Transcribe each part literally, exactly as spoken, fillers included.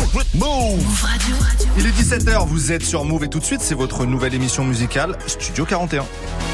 Move Radio. Il est dix-sept heures, vous êtes sur Move et tout de suite, c'est votre nouvelle émission musicale, Studio quarante et un.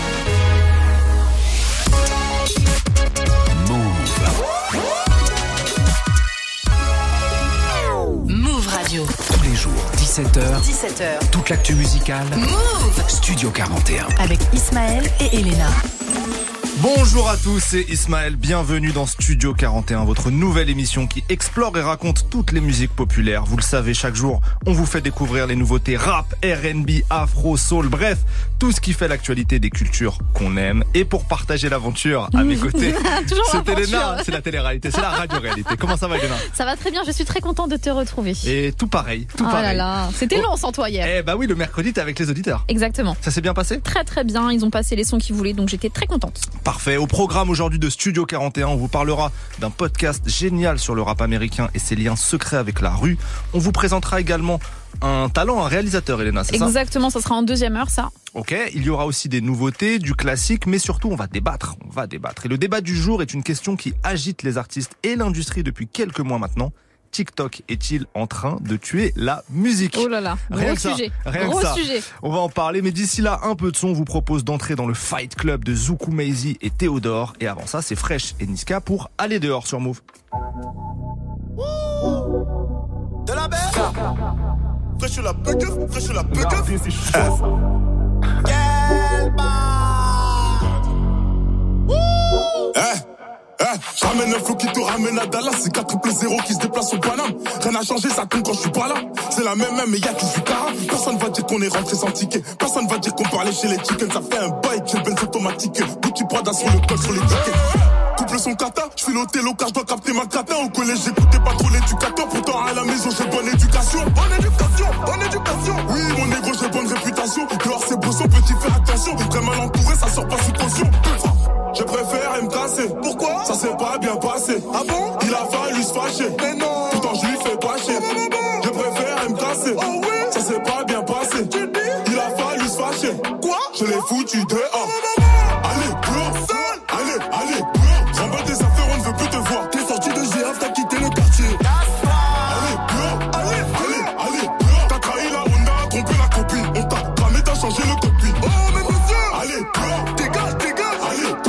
Move Radio. Tous les jours, dix-sept heures. dix-sept heures. Toute l'actu musicale. Move Studio quarante et un. Avec Ismaël et Elena. Bonjour à tous, c'est Ismaël, bienvenue dans Studio quarante et un, votre nouvelle émission qui explore et raconte toutes les musiques populaires. Vous le savez, chaque jour, on vous fait découvrir les nouveautés rap, R and B, afro, soul, bref, tout ce qui fait l'actualité des cultures qu'on aime. Et pour partager l'aventure, à mes côtés, c'est Elena, c'est la télé-réalité, c'est la radio-réalité. Comment ça va, Elena? Ça va très bien, je suis très contente de te retrouver. Et tout pareil, tout oh pareil. Là là, c'était long sans toi hier. Eh bah oui, le mercredi, t'es avec les auditeurs. Exactement. Ça s'est bien passé? Très très bien, ils ont passé les sons qu'ils voulaient, donc j'étais très contente. Parfait. Au programme aujourd'hui de Studio quarante et un, on vous parlera d'un podcast génial sur le rap américain et ses liens secrets avec la rue. On vous présentera également un talent, un réalisateur, Elena, c'est ça? Exactement, ça sera en deuxième heure, ça. Ok, il y aura aussi des nouveautés, du classique, mais surtout on va débattre, on va débattre. Et le débat du jour est une question qui agite les artistes et l'industrie depuis quelques mois maintenant. TikTok est-il en train de tuer la musique? Oh là là, rien gros que ça, sujet, rien gros que ça. sujet. On va en parler, mais d'ici là, un peu de son. On vous propose d'entrer dans le Fight Club de Zoukou Maizy et Théodore. Et avant ça, c'est Fresh et Niska pour Aller dehors sur Move. De la belle Fresh la bugue, fresh la bugue. Quel Eh Eh, j'amène un flow qui te ramène à Dallas. C'est quatre triple zéro qui se déplace au Paname. Rien n'a changé, ça tombe quand je suis pas là. C'est la même même, mais y'a qui du cara. Personne va dire qu'on est rentré sans ticket. Personne va dire qu'on parlait chez les chickens. Ça fait un bail, j'ai le benz automatique. Bouti Prada sur le col, sur les tickets. Couple son kata, je file au télo car je dois capter ma cata. Au collège, j'écoutais pas trop l'éducateur. Pourtant, à la maison, j'ai bonne éducation. Bonne éducation, bonne éducation. Oui, mon négro, j'ai bonne réputation. Dehors, c'est brosson, petit, fais attention. Très mal entouré, ça sort pas sous caution. Je préfère me casser. Pourquoi? Ça s'est pas bien passé. Ah bon? Il a fallu se fâcher. Mais non. Pourtant je lui fais pas chier. Je préfère me casser. Oh oui? Ça s'est pas bien passé. Tu dis? Il a fallu se fâcher. Quoi? Je l'ai foutu dehors. Allez, dehors. Allez, allez, dehors. J'emballe des affaires, on ne veut plus te voir. T'es sorti de G F, t'as quitté le quartier. Allez, dehors. Allez, allez, allez, dehors. T'as trahi la Honda, trompé la copine. On t'a cramé, t'as changé le cockpit. Oh, mais monsieur. Allez, dehors. Dégage, dégage. Allez, dehors.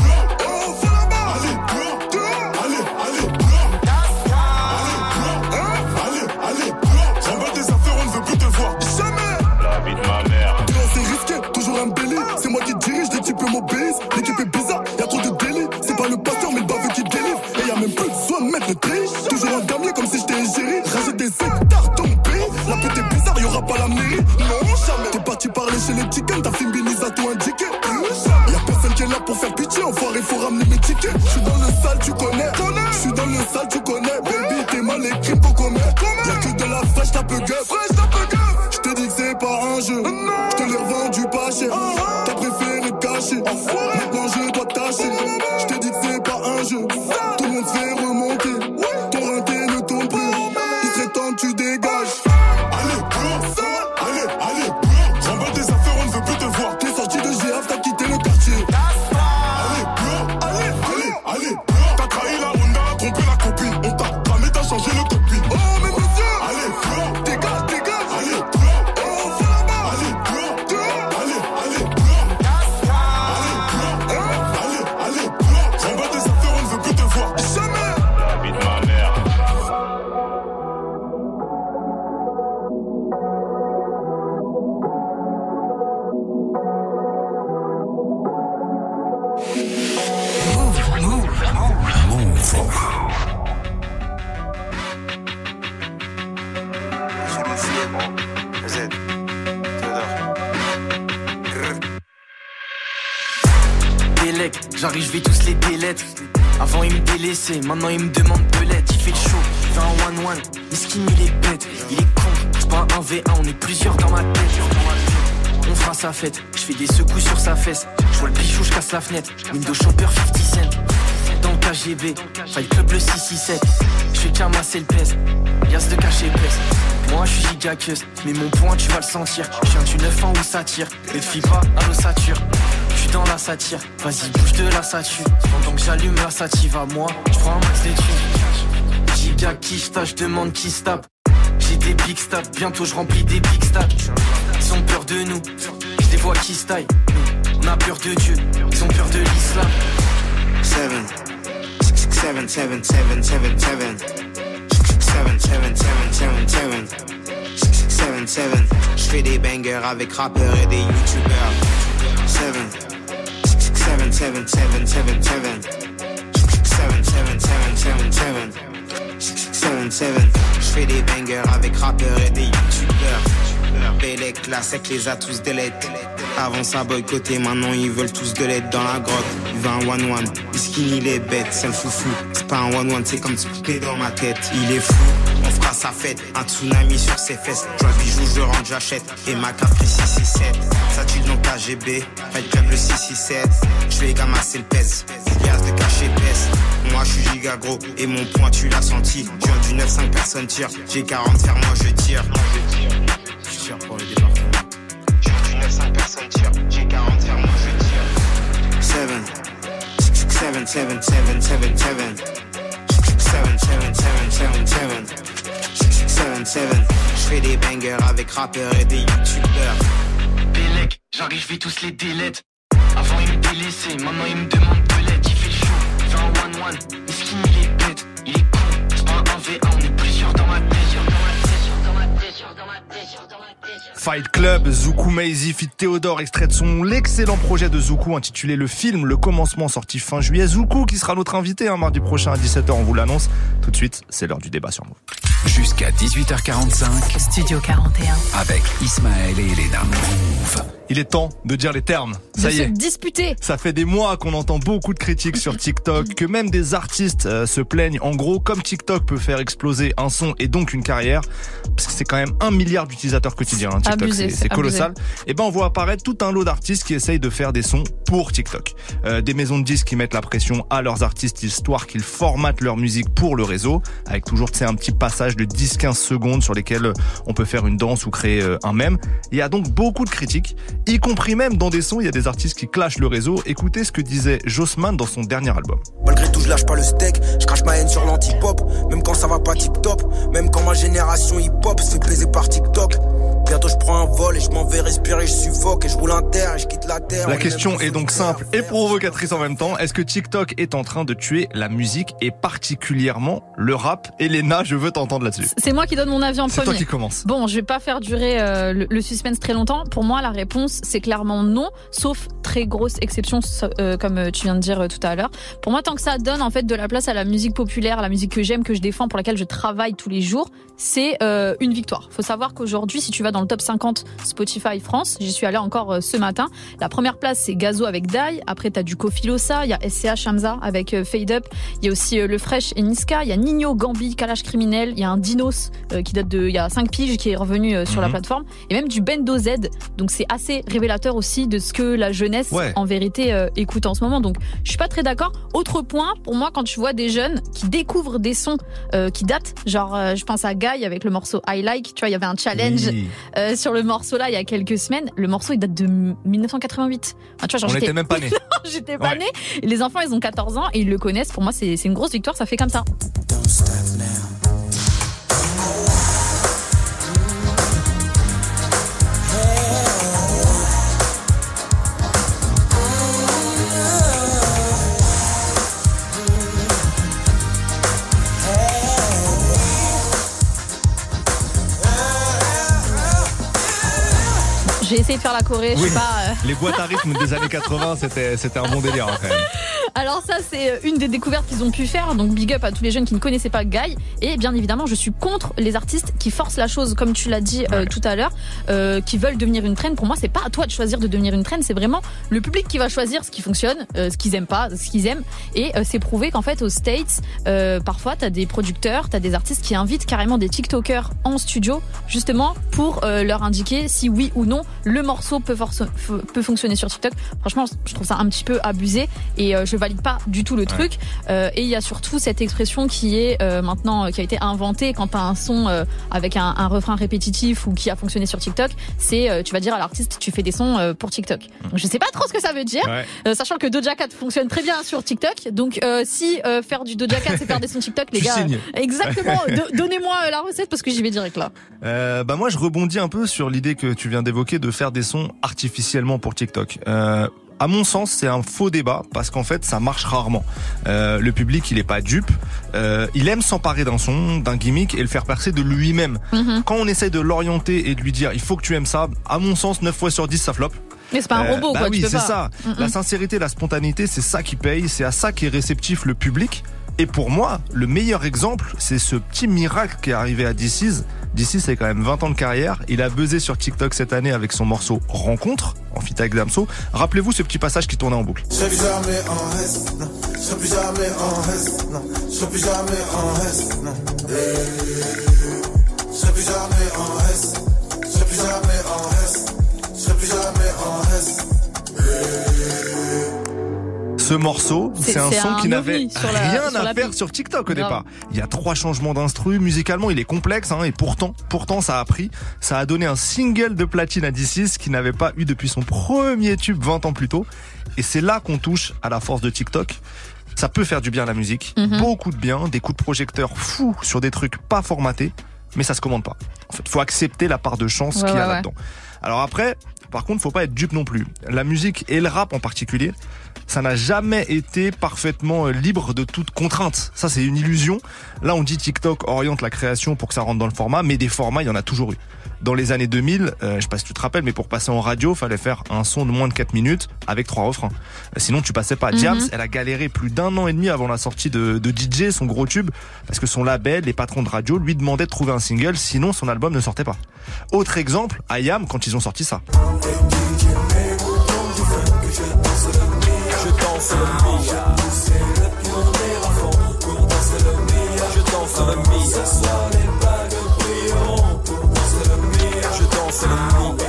L'équipe est bizarre, y'a trop de délits. C'est pas le pasteur mais le baveux qui délivre. Et y'a même plus besoin de mettre le tri. Toujours un damier comme si j'étais égérie. Rajoute des hectares dans mon pays. La pute est bizarre, y'aura pas la mairie. Non, jamais. T'es parti parler chez les chickens, ta fille Billy a tout indiqué. Y'a personne qui est là pour faire pitié. Enfoiré, faut ramener mes tickets. J'suis dans le sale, tu connais. J'suis dans le sale, tu connais. Baby, t'es mal les crimes qu'on commet. Y'a que de la fraîche, t'as peu gueule. J'te dis que c'est pas un jeu. J'te l'ai revendu pas cher. T'as préféré te cacher. Maintenant je dois tâcher. Je te dis que c'est pas un jeu. Tout le monde se fait remonter. Ton rinté ne tombe plus. Il serait temps que tu dégages. Allez, dehors. Allez, allez, dehors. J'emballe des affaires, on ne veut plus te voir. T'es sorti de G F, t'as quitté le quartier. Allez, dehors. Allez, allez, allez, dehors. T'as trahi la Honda, trompé la copine. On t'a cramé, t'as changé le cockpit. Oh, mais monsieur. Allez, dehors. Dégage, dégage. Allez, dehors. Oh, va là-bas. Allez, dehors. Dehors. Allez, allez, dehors. J'emballe des affaires, on ne veut plus te voir. Jamais. La vie de ma mère. Move, move, move, move. Délec, j'arrive, je vais tous les délettre. Avant il me délaissait, maintenant il me demande belette. Il fait le show, il fait un one one. Miskin il est bête, il est con. C'est pas un V un, on est plusieurs dans ma tête. On fera sa fête, je fais des secousses sur sa fesse. Je vois le bichou, je casse la fenêtre. Windows Shopper cinquante cent. Dans le K G B, Fight Club le six six sept. Je fais qu'un masser le pèse, Yas de cacher pèse. Moi je suis gigaqueuse, mais mon point tu vas le sentir. Je viens du neuf ans où ça tire, ne te fie pas à l'ossature. Je suis dans la satire, vas-y bouge de la sature. Pendant que j'allume la sative à moi, je prends un max de thunes. Giga qui je demande qui se tape. J'ai des big stats. Bientôt je remplis des big stats. Ils ont peur de nous, je les vois qui se taillent. On a peur de Dieu, ils ont peur de l'islam. Seven, six, seven, seven, seven, seven, seven, seven, seven, seven, seven, seven, six, seven, seven. J'fais des bangers avec rappeurs et des youtubeurs. Seven, six, seven, seven, seven, seven, seven, seven, seven, seven, seven, seven, six, seven, seven. J'fais des bangers avec rappeurs et des youtubeurs. Bélec, la sec les a tous délètes. Avant ça boycotté, maintenant ils veulent tous de l'aide dans la grotte. Il veut un one-one, il skinny les bêtes, c'est le foufou. C'est pas un one-one, c'est comme splitté dans ma tête. Il est fou, on fera sa fête. Un tsunami sur ses fesses. Je vois le bijou, je rentre, j'achète. Et ma carte le six six sept. Ça tue dans K G B, Fight Club le six six sept. Je vais gamasser le pèse, gaz de cachet pèse. Moi je suis giga gros et mon point tu l'as senti. Je viens du neuf cinq personnes tirent. J'ai quarante faire moi je tire. Je tire pour le département. cinq personnes tirent, j'ai quarante faire moi je tire. Seven, six, seven, seven, seven, seven, seven, seven, seven, seven, seven, seven, six, seven, seven. J'fais des bangers avec rappeurs et des youtubeurs. Bélec, j'arrive, j'vais tous les délètes. Avant il me délaissait, maintenant il me demande de l'aide. Il fait le show, il fait un one-one, il skinny il est bête, il est con. C'est pas un un v un, on est plusieurs dans ma tête. Fight Club, Zoukou Maizy fit Théodore, extrait de son l'excellent projet de Zoukou intitulé Le Film, Le Commencement, sorti fin juillet. Zoukou qui sera notre invité hein, mardi prochain à dix-sept heures, on vous l'annonce. Tout de suite, c'est l'heure du débat sur Move. Jusqu'à dix-huit heures quarante-cinq. Studio quarante et un. Avec Ismaël et Elena. Move. Il est temps de dire les termes. Ça de y se est. disputer. Ça fait des mois qu'on entend beaucoup de critiques sur TikTok, que même des artistes euh, se plaignent. En gros, comme TikTok peut faire exploser un son et donc une carrière, parce que c'est quand même un milliard d'utilisateurs quotidiens, hein, TikTok, Abusé, c'est, c'est colossal. Et ben on voit apparaître tout un lot d'artistes qui essayent de faire des sons pour TikTok. Euh, des maisons de disques qui mettent la pression à leurs artistes histoire qu'ils formatent leur musique pour le réseau, avec toujours tu sais un petit passage de dix à quinze secondes sur lesquels on peut faire une danse ou créer euh, un mème. Il y a donc beaucoup de critiques, y compris même dans des sons, il y a des artistes qui clashent le réseau. Écoutez ce que disait Jossman dans son dernier album. Malgré tout, je lâche pas le steak, je crache ma haine sur l'anti-pop, même quand ça va pas tip-top, même quand ma génération hip-hop se fait baiser par TikTok. Bientôt je prends un vol et je m'en vais respirer, je suffoque et je roule un terre et je quitte la terre. La question est donc simple et provocatrice en même temps. Est-ce que TikTok est en train de tuer la musique et particulièrement le rap? Elena, je veux t'entendre là-dessus. C'est moi qui donne mon avis en C'est premier. toi qui commence. Bon, je vais pas faire durer euh, le, le suspense très longtemps. Pour moi, la réponse, c'est clairement non, sauf très grosse exception, euh, comme tu viens de dire euh, tout à l'heure. Pour moi, tant que ça donne en fait de la place à la musique populaire, à la musique que j'aime, que je défends, pour laquelle je travaille tous les jours, c'est euh, une victoire. Faut savoir qu'aujourd'hui, si tu vas dans le top cinquante Spotify France, j'y suis allée encore euh, ce matin. La première place, c'est Gazo avec Dai. Après, t'as du Kofi Losa, il y a S C H Hamza avec euh, Fade Up. Il y a aussi euh, Le Fresh et Niska. Il y a Nino, Gambi, Kalash Criminel. Il y a un Dinos euh, qui date de il y a cinq piges qui est revenu euh, sur mm-hmm. la plateforme. Et même du Bendo Z. Donc c'est assez révélateur aussi de ce que la jeunesse ouais. en vérité euh, écoute en ce moment. Donc je suis pas très d'accord. Autre point, pour moi, quand tu vois des jeunes qui découvrent des sons euh, qui datent, genre euh, je pense à Guy avec le morceau I Like. Tu vois, il y avait un challenge oui. euh, sur le morceau là il y a quelques semaines. Le morceau il date de dix-neuf cent quatre-vingt-huit. Enfin, tu vois, genre, on j'étais... était même pas nés. J'étais pas ouais. née. Et les enfants, ils ont quatorze ans et ils le connaissent. Pour moi, c'est, c'est une grosse victoire. Ça fait comme ça. J'ai essayé de faire la choré, je oui. sais pas. Euh... Les boîtes à rythme des années quatre-vingts, c'était, c'était un bon délire hein, quand même. Alors ça, c'est une des découvertes qu'ils ont pu faire. Donc big up à tous les jeunes qui ne connaissaient pas Guy. Et bien évidemment, je suis contre les artistes qui forcent la chose, comme tu l'as dit euh, ouais. tout à l'heure, euh, qui veulent devenir une trend. Pour moi, c'est pas à toi de choisir de devenir une trend. C'est vraiment le public qui va choisir ce qui fonctionne, euh, ce qu'ils aiment pas, ce qu'ils aiment. Et euh, c'est prouvé qu'en fait, aux States, euh, parfois, t'as des producteurs, t'as des artistes qui invitent carrément des TikTokers en studio, justement pour euh, leur indiquer si oui ou non le morceau peut, force, peut fonctionner sur TikTok. Franchement, je trouve ça un petit peu abusé et euh, je valide pas du tout le truc. Ouais. Euh, et il y a surtout cette expression qui est euh, maintenant, qui a été inventée quand t'as un son euh, avec un, un refrain répétitif ou qui a fonctionné sur TikTok. C'est, euh, tu vas dire à l'artiste, tu fais des sons euh, pour TikTok. Donc, je sais pas trop ce que ça veut dire, ouais. euh, sachant que Doja Cat fonctionne très bien sur TikTok. Donc, euh, si euh, faire du Doja Cat, c'est faire des sons TikTok, les tu gars. Signes. Euh, exactement. Do- donnez-moi la recette parce que j'y vais direct là. Euh, bah moi, je rebondis un peu sur l'idée que tu viens d'évoquer de faire des sons artificiellement pour TikTok. Euh, À mon sens, c'est un faux débat parce qu'en fait, ça marche rarement. Euh, le public, il est pas dupe. Euh, il aime s'emparer d'un son, d'un gimmick et le faire percer de lui-même. Mm-hmm. Quand on essaie de l'orienter et de lui dire, il faut que tu aimes ça, à mon sens, neuf fois sur dix, ça floppe. Mais c'est pas un robot, euh, bah quoi. Oui, tu peux c'est pas. ça. Mm-mm. La sincérité, la spontanéité, c'est ça qui paye. C'est à ça qu'est réceptif le public. Et pour moi, le meilleur exemple, c'est ce petit miracle qui est arrivé à D C. D C, c'est quand même vingt ans de carrière. Il a buzzé sur TikTok cette année avec son morceau Rencontre, en feat avec Damso. Rappelez-vous ce petit passage qui tournait en boucle. Je serai plus jamais en reste, non. Je serai plus jamais en reste, non. Je serai plus jamais en reste, non. Je serai plus jamais en reste. Je serai plus jamais en reste. Je serai plus jamais en reste. Ce morceau, c'est, c'est un c'est son un qui n'avait la, rien sur à faire piste. sur TikTok au Grave. départ. Il y a trois changements d'instru, musicalement il est complexe, hein, et pourtant, pourtant ça a pris, ça a donné un single de platine à D six qui n'avait pas eu depuis son premier tube vingt ans plus tôt. Et c'est là qu'on touche à la force de TikTok. Ça peut faire du bien à la musique, mm-hmm. beaucoup de bien, des coups de projecteur fous sur des trucs pas formatés, mais ça se commande pas. En fait, faut accepter la part de chance ouais, qu'il y a ouais, là-dedans. Alors après, par contre, faut pas être dupe non plus. La musique et le rap en particulier, ça n'a jamais été parfaitement libre de toute contrainte. Ça, c'est une illusion. Là, on dit TikTok oriente la création pour que ça rentre dans le format, mais des formats, il y en a toujours eu. Dans les années deux mille, euh, je sais pas si tu te rappelles, mais pour passer en radio, fallait faire un son de moins de quatre minutes avec trois refrains. Sinon, tu passais pas. Mm-hmm. Diams, elle a galéré plus d'un an et demi avant la sortie de, de D J, son gros tube, parce que son label, les patrons de radio, lui demandaient de trouver un single, sinon son album ne sortait pas. Autre exemple, I A M, quand ils ont sorti ça. Je danse le Mia. Je danse le Mia. Je danse le Mia.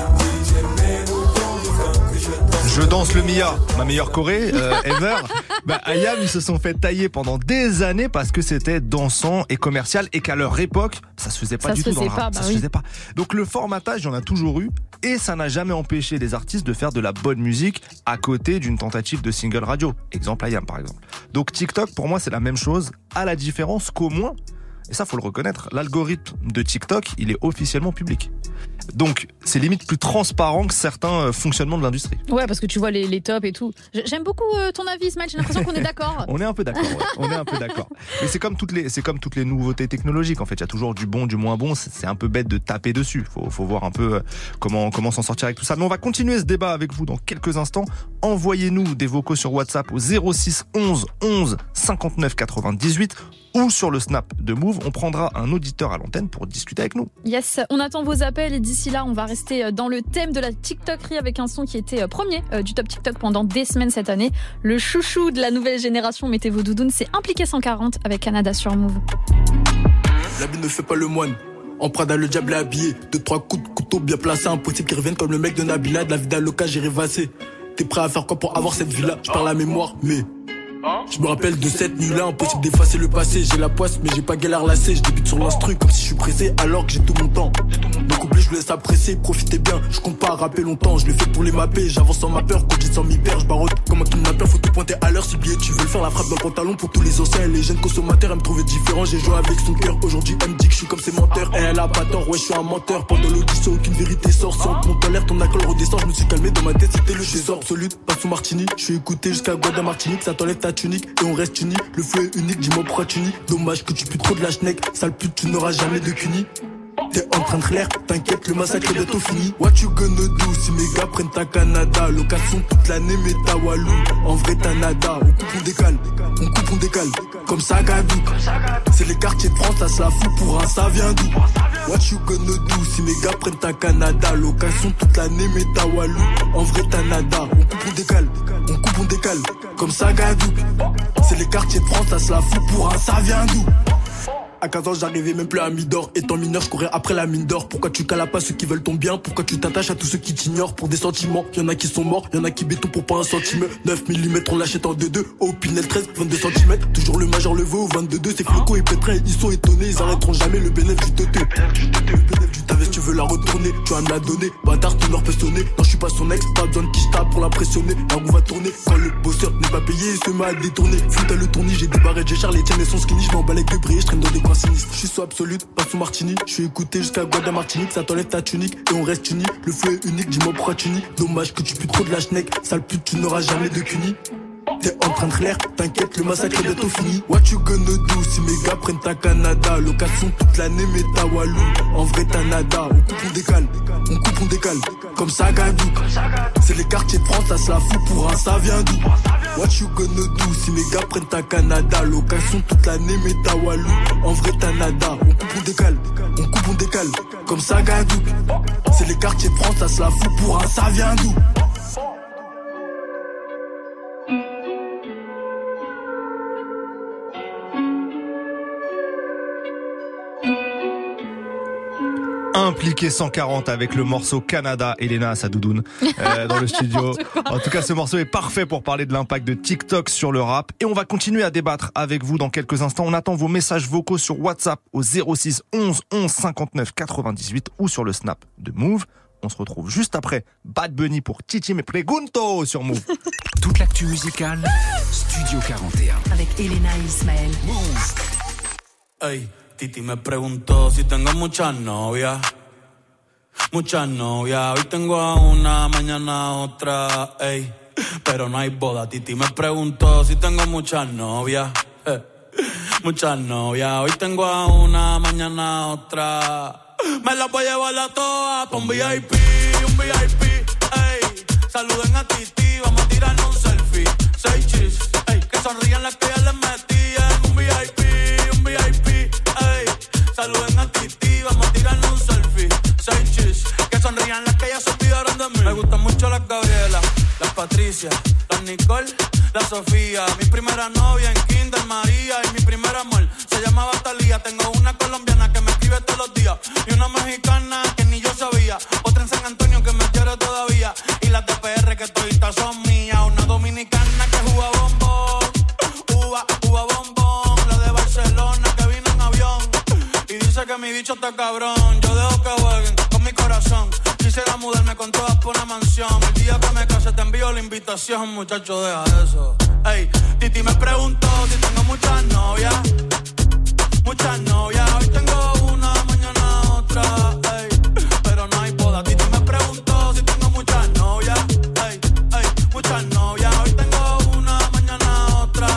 Je danse le Mia, ma meilleure choré euh, ever. Bah, I A M, ils se sont fait tailler pendant des années parce que c'était dansant et commercial et qu'à leur époque, ça se faisait pas ça du se tout dans le pas, rap. bah ça oui. se faisait pas. Donc le formatage, il y en a toujours eu et ça n'a jamais empêché les artistes de faire de la bonne musique à côté d'une tentative de single radio. Exemple I A M par exemple. Donc TikTok, pour moi, c'est la même chose, à la différence qu'au moins, et ça faut le reconnaître, l'algorithme de TikTok, il est officiellement public. Donc, c'est limite plus transparent que certains fonctionnements de l'industrie. Ouais, parce que tu vois les, les tops et tout. J'aime beaucoup euh, ton avis, Ismaël. J'ai l'impression qu'on est d'accord. On est un peu d'accord. Ouais. On est un peu d'accord. Mais c'est comme toutes les, c'est comme toutes les nouveautés technologiques. En fait, il y a toujours du bon, du moins bon. C'est, c'est un peu bête de taper dessus. Faut, faut voir un peu comment, comment s'en sortir avec tout ça. Mais on va continuer ce débat avec vous dans quelques instants. Envoyez-nous des vocaux sur WhatsApp au zéro six onze onze cinquante-neuf quatre-vingt-dix-huit ou sur le Snap de Move. On prendra un auditeur à l'antenne pour discuter avec nous. Yes, on attend vos appels et d'ici là, on va rester dans le thème de la TikTokerie avec un son qui était premier du top TikTok pendant des semaines cette année. Le chouchou de la nouvelle génération, mettez vos doudounes, c'est Impliqué cent quarante avec Canada sur Move. La vie ne fait pas le moine. En Prada, le diable est habillé. Deux, trois coups de couteau bien placés. Impossible qu'ils reviennent comme le mec de Nabila. De la vie d'Aloca, j'ai rêvassé. T'es prêt à faire quoi pour avoir cette vie-là? Je parle à mémoire, mais... Je me rappelle de cette nuit-là, impossible d'effacer le passé. J'ai la poisse, mais j'ai pas galère lassé. Je débute sur l'instru comme si je suis pressé, alors que j'ai tout mon temps. Donc oublie, je vous laisse apprécier, profitez bien. Je compte pas à rapper longtemps, je le fais pour les mapper. J'avance sans ma peur, quand j'ai sans m'y perdre. Je barotte comme un kidnappeur, faut te pointer à l'heure. Si billet, tu veux le faire, la frappe dans le pantalon pour tous les anciens et les jeunes consommateurs. Elle me trouvait différent, j'ai joué avec son cœur. Aujourd'hui, elle me dit que je suis comme ses menteurs. Et elle a pas tort, ouais, je suis un menteur. Pendant l'audition, aucune vérité sort. Si on te monte en l'air, ton alcool redescend. Je me suis calmé dans ma tête, c'était le trésor absolu. Pas sous Martini, je suis écouté jusqu'à Guada Martinique. Ça t'enlève ta tunique et on reste uni. Le feu est unique, dis-moi pourquoi tu nies. Dommage que tu pues trop de la schneck. Sale pute, tu n'auras jamais de cuni. T'es en train de clair, t'inquiète, le massacre est bientôt fini. What you gonna do si mes gars prennent ta Canada? Location toute l'année, mais ta Walou. En vrai, t'as nada. On coupe, on décale. On coupe, on décale. Comme ça, Gadou. C'est les quartiers de France, ça se la fout pour un, ça vient d'où? What you gonna do si mes gars prennent ta Canada? Location toute l'année, mais ta Walou. En vrai, t'as nada. On coupe, on décale. On coupe, on décale. Comme ça, Gadou. C'est les quartiers de France, ça se la fout pour un, ça vient d'où? À quinze ans, j'arrivais même plus à Midor. Étant mineur, je courais après la mine d'or. Pourquoi tu cales pas ceux qui veulent ton bien? Pourquoi tu t'attaches à tous ceux qui t'ignorent pour des sentiments? Y'en a qui sont morts, y'en a qui béton pour pas un centimètre. neuf millimètres, on l'achète en deux deux. Au Pinel treize, vingt-deux centimètres. Toujours le major le veut au vingt-deux deux. C'est Floco et Pétrin, ils sont étonnés. Ils arrêteront jamais le bénéfice du teuté. Ta veste, tu veux la retourner, tu vas me la donner. Bâtard, ton or peut sonner. Non, je suis pas son ex, pas besoin de qui je tape pour l'impressionner. La roue va tourner. Quand le bosseur n'est pas payé, il se met à détourner. Foot à le tournis, j'ai des barrettes, j'ai Charles, les tiennes, elles sont skinny. Je m'en bats avec le briller, je traîne dans des coins sinistres. Je suis sous absolute, pas sous Martini. Je suis écouté jusqu'à Guada Martinique. Ça t'enlève ta tunique et on reste unis. Le feu est unique, dis-moi pourquoi tu nies. Dommage que tu pues trop de la schneck. Sale pute, tu n'auras jamais de cuni. T'es en train de clair, t'inquiète, le massacre est bientôt fini. What you gonna do si mes gars prennent ta Canada? Location toute l'année, mais ta Walou. En vrai, t'as nada. On coupe, on décale. On coupe, on décale. Comme ça, Gadou. C'est les quartiers de France, ça se la fout pour un, ça vient d'où? What you gonna do si mes gars prennent ta Canada? Location toute l'année, mais ta Walou. En vrai, t'as nada. On coupe, on décale. On coupe, on décale. Comme ça, Gadou. C'est les quartiers de France, ça se la fout pour un, ça vient d'où? Impliqué cent quarante avec le morceau Canada, Elena à sa doudoune euh, dans le studio. En tout cas, ce morceau est parfait pour parler de l'impact de TikTok sur le rap. Et on va continuer à débattre avec vous dans quelques instants. On attend vos messages vocaux sur WhatsApp au zéro six onze onze cinquante-neuf quatre-vingt-dix-huit ou sur le Snap de Move. On se retrouve juste après Bad Bunny pour Titi Me Pregunto sur Move. Toute l'actu musicale, Studio quarante et un. Avec Elena et Ismaël. Move. Hey. Titi me preguntó si tengo muchas novias, muchas novias. Hoy tengo a una, mañana a otra, ey, pero no hay boda. Titi me preguntó si tengo muchas novias, eh, muchas novias. Hoy tengo a una, mañana a otra. Me las voy a llevar a todas pa' un V I P, un V I P, ey. Saluden a Titi, vamos a tirarnos un selfie. Seis chis, ey, que sonrían las que ya les metí en un V I P, un V I P. Saluden a Titi, vamos a tirarnos un selfie. Seis chis, que sonrían las que ya se olvidaron de mí. Me gustan mucho las Gabriela, las Patricia, las Nicole, la Sofía. Mi primera novia en Kinder María y mi primer amor se llamaba Talía. Tengo una colombiana que me escribe todos los días y una mexicana que ni yo sabía. Otra en San Antonio que me quiere todavía y las de P R que toditas son mías. Una dominicana que juega bombón, uva, uva bombón. La de Barcelona que vino en avión y dice que mi bicho está cabrón. Yo dejo que jueguen con mi corazón. Quisiera mudarme con todas por una mansión. El día que me case te envío la invitación. Muchacho, deja eso. Ey, Titi me preguntó si tengo muchas novias. Muchas novias. Hoy tengo una, mañana otra. Ey, pero no hay boda. Titi me preguntó si tengo muchas novias. Ey, ey, muchas novias. Hoy tengo una, mañana otra.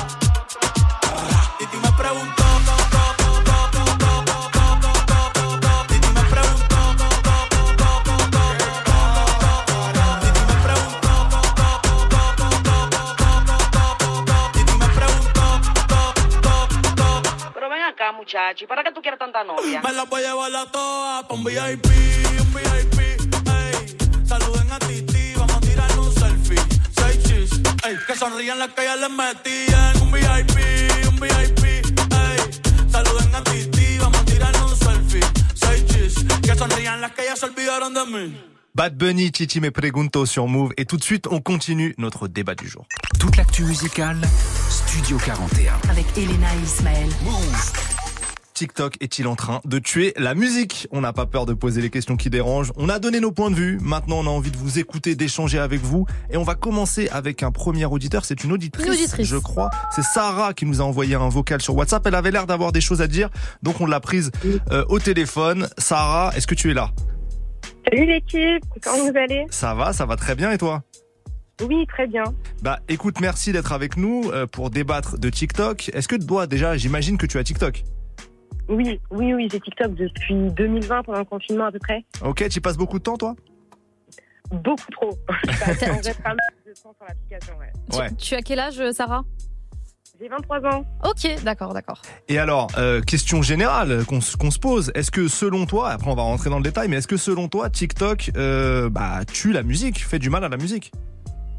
Titi me preguntó. Muchacho, ¿y para qué tú quieres tanta novia? Me las voy a llevar a todas pa' un V I P, un V I P, ey. Saluden a Titi, vamos a tirarnos un selfie. Seis chis, ey. Que sonrían las que ya les metían. Un V I P, un V I P, ey. Saluden a Titi, vamos a tirarnos un selfie. Seis chis, que sonrían las que ya se olvidaron de mí. Bad Bunny, Titi Me Pregunto sur Move. Et tout de suite, on continue notre débat du jour. Toute l'actu musicale, Studio quarante et un. Avec Elena et Ismaël. Move. TikTok est-il en train de tuer la musique? On n'a pas peur de poser les questions qui dérangent. On a donné nos points de vue. Maintenant, on a envie de vous écouter, d'échanger avec vous. Et on va commencer avec un premier auditeur. C'est une auditrice, une auditrice. je crois. C'est Sarah qui nous a envoyé un vocal sur WhatsApp. Elle avait l'air d'avoir des choses à dire. Donc, on l'a prise euh, au téléphone. Sarah, est-ce que tu es là? Salut l'équipe, comment vous allez? Ça va, ça va très bien. Et toi? Oui, très bien. Bah, écoute, merci d'être avec nous euh, pour débattre de TikTok. Est-ce que toi, déjà, j'imagine que tu as TikTok? Oui, oui, oui, j'ai TikTok depuis deux mille vingt, pendant le confinement à peu près. Ok, tu y passes beaucoup de temps, toi? Beaucoup trop. Je passe en vrai pas mal de temps sur l'application, ouais. Ouais. Tu, tu as quel âge, Sarah? J'ai vingt-trois ans. Ok, d'accord, d'accord. Et alors, euh, question générale qu'on, qu'on se pose, est-ce que selon toi, après on va rentrer dans le détail, mais est-ce que selon toi, TikTok euh, bah, tue la musique, fait du mal à la musique?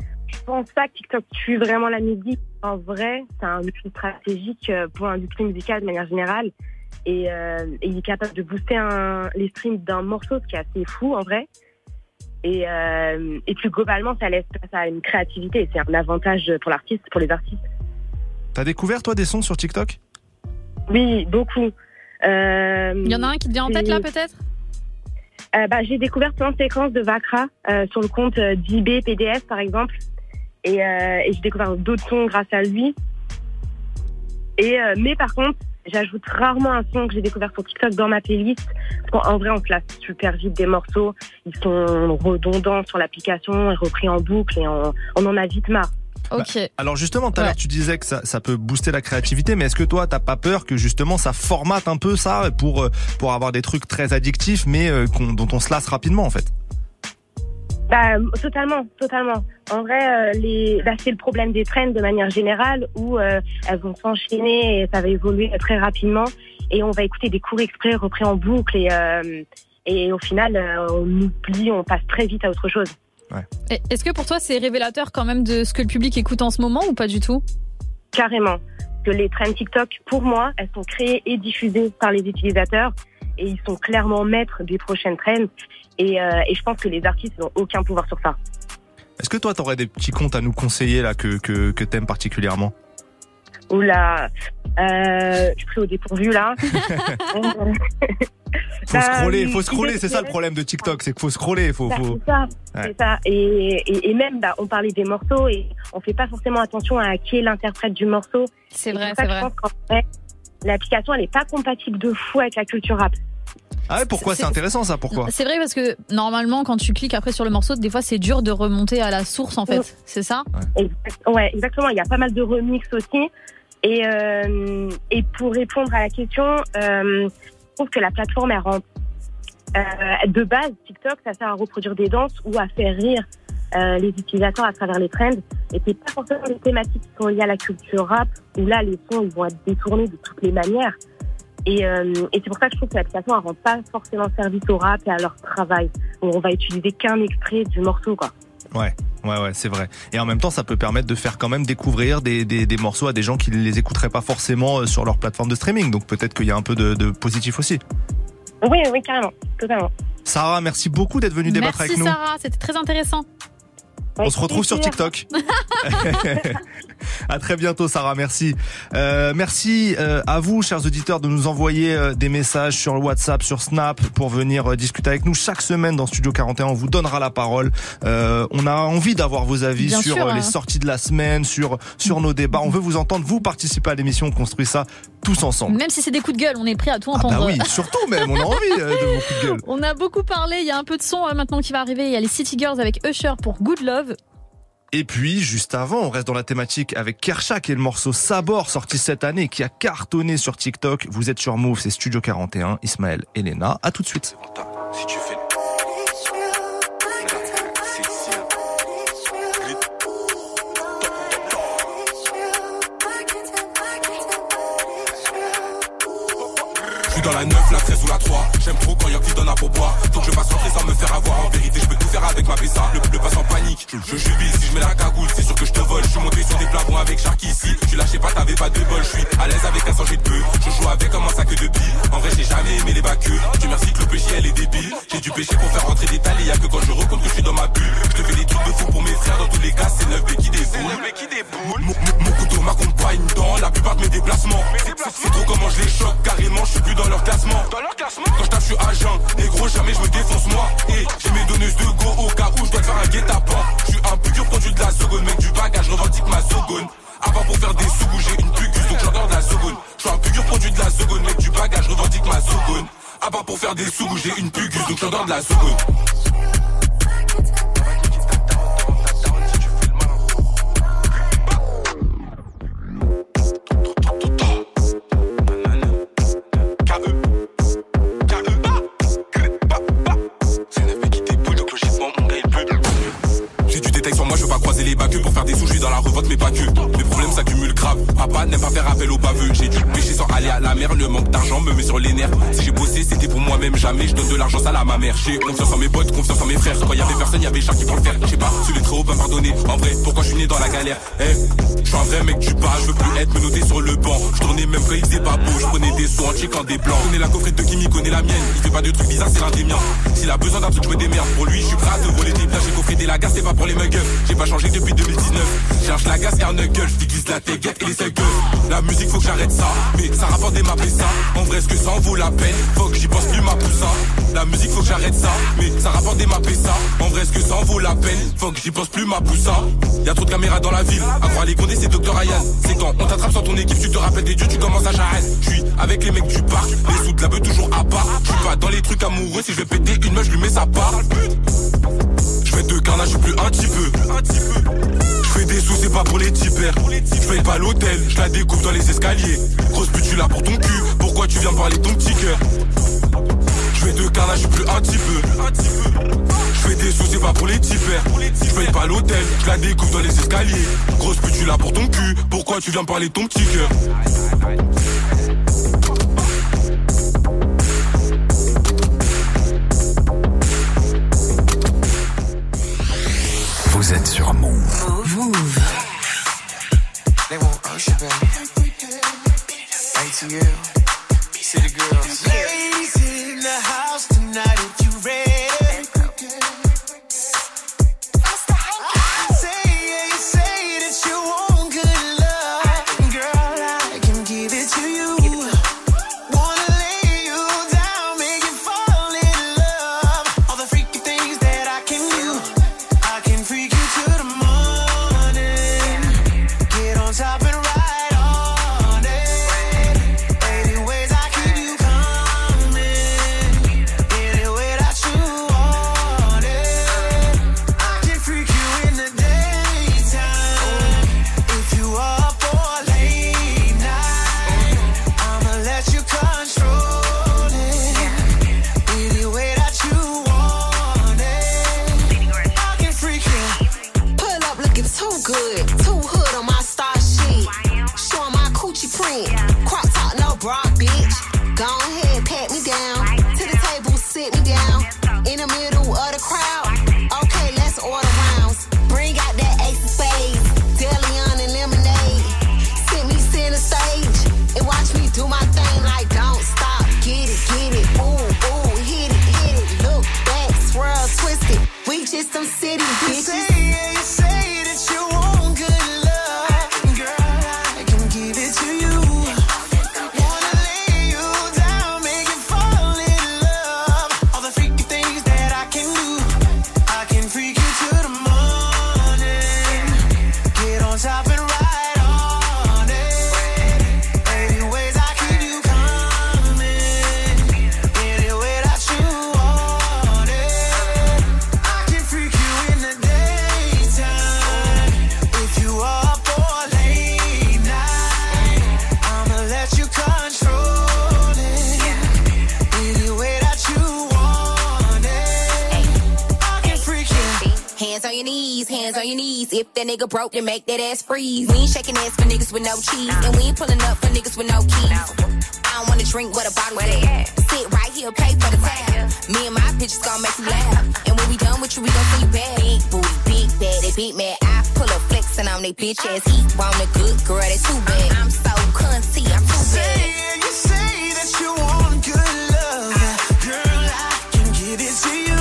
pense pas que TikTok tue vraiment la musique. En vrai, c'est un outil stratégique pour l'industrie musicale de manière générale. Et, euh, et il est capable de booster un, les streams d'un morceau, ce qui est assez fou en vrai. Et, euh, et plus globalement, ça laisse place à une créativité. C'est un avantage pour l'artiste, pour les artistes. T'as découvert, toi, des sons sur TikTok ? Oui, beaucoup. Euh, il y en a un qui te vient en tête, là, peut-être ? euh, bah, J'ai découvert plein de séquences de Vakra euh, sur le compte d'I B P D F, par exemple. Et, euh, et j'ai découvert d'autres sons grâce à lui. Et, euh, mais par contre, j'ajoute rarement un son que j'ai découvert sur TikTok dans ma playlist. Parce qu'en vrai, on place super vite des morceaux. Ils sont redondants sur l'application, repris en boucle et on, on en a vite marre. Ok. Bah, alors justement, tout à l'heure, tu disais que ça, ça peut booster la créativité, mais est-ce que toi, t'as pas peur que justement ça formate un peu ça pour, pour avoir des trucs très addictifs, mais euh, qu'on, dont on se lasse rapidement en fait ? Bah, totalement, totalement. En vrai, euh, les, bah, c'est le problème des trends de manière générale où euh, elles vont s'enchaîner et ça va évoluer très rapidement et on va écouter des courts extraits repris en boucle et, euh, et au final, euh, on oublie, on passe très vite à autre chose. Ouais. Est-ce que pour toi, c'est révélateur quand même de ce que le public écoute en ce moment ou pas du tout ? Carrément. Que les trends TikTok, pour moi, elles sont créées et diffusées par les utilisateurs et ils sont clairement maîtres des prochaines trends. Et, euh, et je pense que les artistes n'ont aucun pouvoir sur ça. Est-ce que toi, t'aurais des petits comptes à nous conseiller là que, que, que t'aimes particulièrement ? Oula, euh, je suis pris au dépourvu là. Faut bah, scroller, faut scroller, c'est ça le problème de TikTok, c'est qu'il faut scroller, faut, bah, faut... C'est ça, ouais. c'est ça. Et, et, et même, bah, on parlait des morceaux et on fait pas forcément attention à qui est l'interprète du morceau. C'est vrai, et c'est ça, vrai. Je pense qu'en fait, l'application, elle est pas compatible de fou avec la culture rap. Ah ouais, pourquoi c'est, c'est intéressant ça, pourquoi ? C'est vrai parce que normalement quand tu cliques après sur le morceau, des fois c'est dur de remonter à la source en fait, oui. C'est ça ? Ouais. Exact, ouais, exactement, il y a pas mal de remix aussi. Et, euh, et pour répondre à la question, euh, je trouve que la plateforme, elle rend euh, de base, TikTok, ça sert à reproduire des danses ou à faire rire euh, les utilisateurs à travers les trends. Et c'est pas forcément des thématiques qui sont liées à la culture rap, où là les sons ils vont être détournés de toutes les manières. Et, euh, et c'est pour ça que je trouve que l'application ne rend pas forcément service au rap et à leur travail. On va utiliser qu'un extrait du morceau, quoi. Ouais, ouais, ouais, c'est vrai. Et en même temps, ça peut permettre de faire quand même découvrir des, des, des morceaux à des gens qui ne les écouteraient pas forcément sur leur plateforme de streaming. Donc peut-être qu'il y a un peu de, de positif aussi. Oui, oui, carrément, totalement. Sarah, merci beaucoup d'être venue débattre merci avec nous. Merci Sarah, c'était très intéressant. On se retrouve sur TikTok. À très bientôt, Sarah. Merci. Euh, merci euh, à vous, chers auditeurs, de nous envoyer euh, des messages sur le WhatsApp, sur Snap, pour venir euh, discuter avec nous chaque semaine dans Studio quarante et un. On vous donnera la parole. Euh, on a envie d'avoir vos avis Bien sur sûr, euh, les hein. sorties de la semaine, sur sur nos débats. On veut vous entendre. Vous participez à l'émission. On construit ça tous ensemble. Même si c'est des coups de gueule, on est prêt à tout entendre. Ah bah oui, surtout même. On a envie euh, de vos coups de gueule. On a beaucoup parlé. Il y a un peu de son euh, maintenant qui va arriver. Il y a les City Girls avec Usher pour Good Love. Et puis, juste avant, on reste dans la thématique avec Kershak et le morceau Sabor, sorti cette année, qui a cartonné sur TikTok. Vous êtes sur Move, c'est Studio quarante et un, Ismaël et Léna. À tout de suite. Si tu fais... Dans la neuf, la treize ou la trois. J'aime trop quand y'a qui donne à pourboire. Donc je passe rentrer sans me faire avoir. En vérité, je peux tout faire avec ma P S A. Le, le passe en panique. Je, je, je vis si je mets la cagoule. C'est sûr que je te vole. Je suis monté sur des plafonds avec Sharky ici. Tu lâchais pas, t'avais pas de bol. Je suis à l'aise avec un sang de peu. Je joue avec comme un sac de billes. En vrai, j'ai jamais aimé les bacs. Tu merci que le péché, elle est débile. J'ai dû pêcher pour faire rentrer des talés. Y'a que quand je recompte que je suis dans ma bulle. Je te fais des trucs de fou pour mes frères. Dans tous les cas, c'est neuf B qui déboule. Mon, mon, mon couteau m'accompagne dans la plupart de mes déplacements. C'est trop comment je les choque. Carrément, je suis plus dans leur classement. Quand je tape, je suis agent, négro, jamais je me défonce moi. Et j'ai mes donneuses de go au cas où je dois te faire un guet-apens. Je suis un pur produit de la seconde, mec du bagage, je revendique ma seconde. Avant pour faire des sous, j'ai une pugus, donc j'adore de la seconde. Je suis un pur produit de la seconde, mec du bagage, je revendique ma seconde. Avant pour faire des sous, j'ai une pugus, donc j'adore de la seconde. que pour faire des sous, je suis dans la revote, mais pas que. Les problèmes s'accumulent grave. Papa n'aime pas faire appel au baveux. J'ai dû pêcher sans aller à la mer. Le manque d'argent me met sur les nerfs. Si j'ai bossé, c'était pour moi-même. Jamais je donne de l'argent sale à ma mère. J'ai confiance en mes potes, confiance en mes frères. Quand y avait personne, y avait Charles qui pour le faire. Je sais pas, sous les très hauts, pas pardonner. En vrai, pourquoi je suis né dans la galère? Eh, hey, je suis un vrai mec du bas. Je veux plus être menotté sur le banc. Je tournais même quand il faisait pas beau. Je prenais des sous en checkant des blancs. Connais la coffrette de Kimi, connais la mienne. Il fait pas de trucs bizarres, c'est l'un des miens. S'il a besoin d'un truc, je me démerde. Pour lui, je suis prêt à te voler des biens. J'ai coffré des lagas, c'est pas pour les muggles. J'ai pas changé depuis deux mille dix-neuf. Cherche la gasse et un knuckle. Je déguise la téguette et les seuls gueules. La musique, faut que j'arrête ça. Mais ça rapporte des maps et ça. En vrai, est-ce que ça en vaut la peine? Faut que j'y pense plus ma poussa. La musique, faut que j'arrête ça. Mais ça rapporte des maps et ça. En vrai, est-ce que ça en vaut la peine? Faut que j'y pense plus ma poussa. Y'a trop de caméras dans la ville. À croire les condés, c'est docteur Ryan. C'est quand on t'attrape sans ton équipe, tu te rappelles des dieux, tu commences à charrer. J'suis avec les mecs du parc. Les sous de la beuh toujours à part. J'suis pas dans les trucs amoureux. Si je vais péter une meuf, je lui mets sa part. J'fais de carnage, j'suis plus un petit peu. J'fais des sous, c'est pas pour les tipers. J'paye pas l'hôtel, j'la découvre dans les escaliers. Grosse pute, tu là pour ton cul. Pourquoi tu viens parler de ton petit cœur? J'fais de carnage, j'suis plus un petit peu. J'fais des sous, c'est pas pour les tipers. J'paye pas l'hôtel, j'la découvre dans les escaliers. Grosse pute, tu là pour ton cul. Pourquoi tu viens parler de ton petit cœur? Vous êtes sur Move. Move. They want Usher, baby. A T L. City Girls. Ladies in the house tonight if you ready. Nigga broke, then make that ass freeze. We ain't shaking ass for niggas with no cheese, and we ain't pulling up for niggas with no keys. I don't wanna drink what a bottle at. Sit right here, pay for the tab. Me and my bitches gon' make you laugh, and when we done with you, we gon' see you back. Big booty, big bad, they beat me. I pull up flexing on they bitch ass. He want a good girl, they too bad. I'm so cunty, I'm too bad. You say that you want good love, girl, I can give it to you.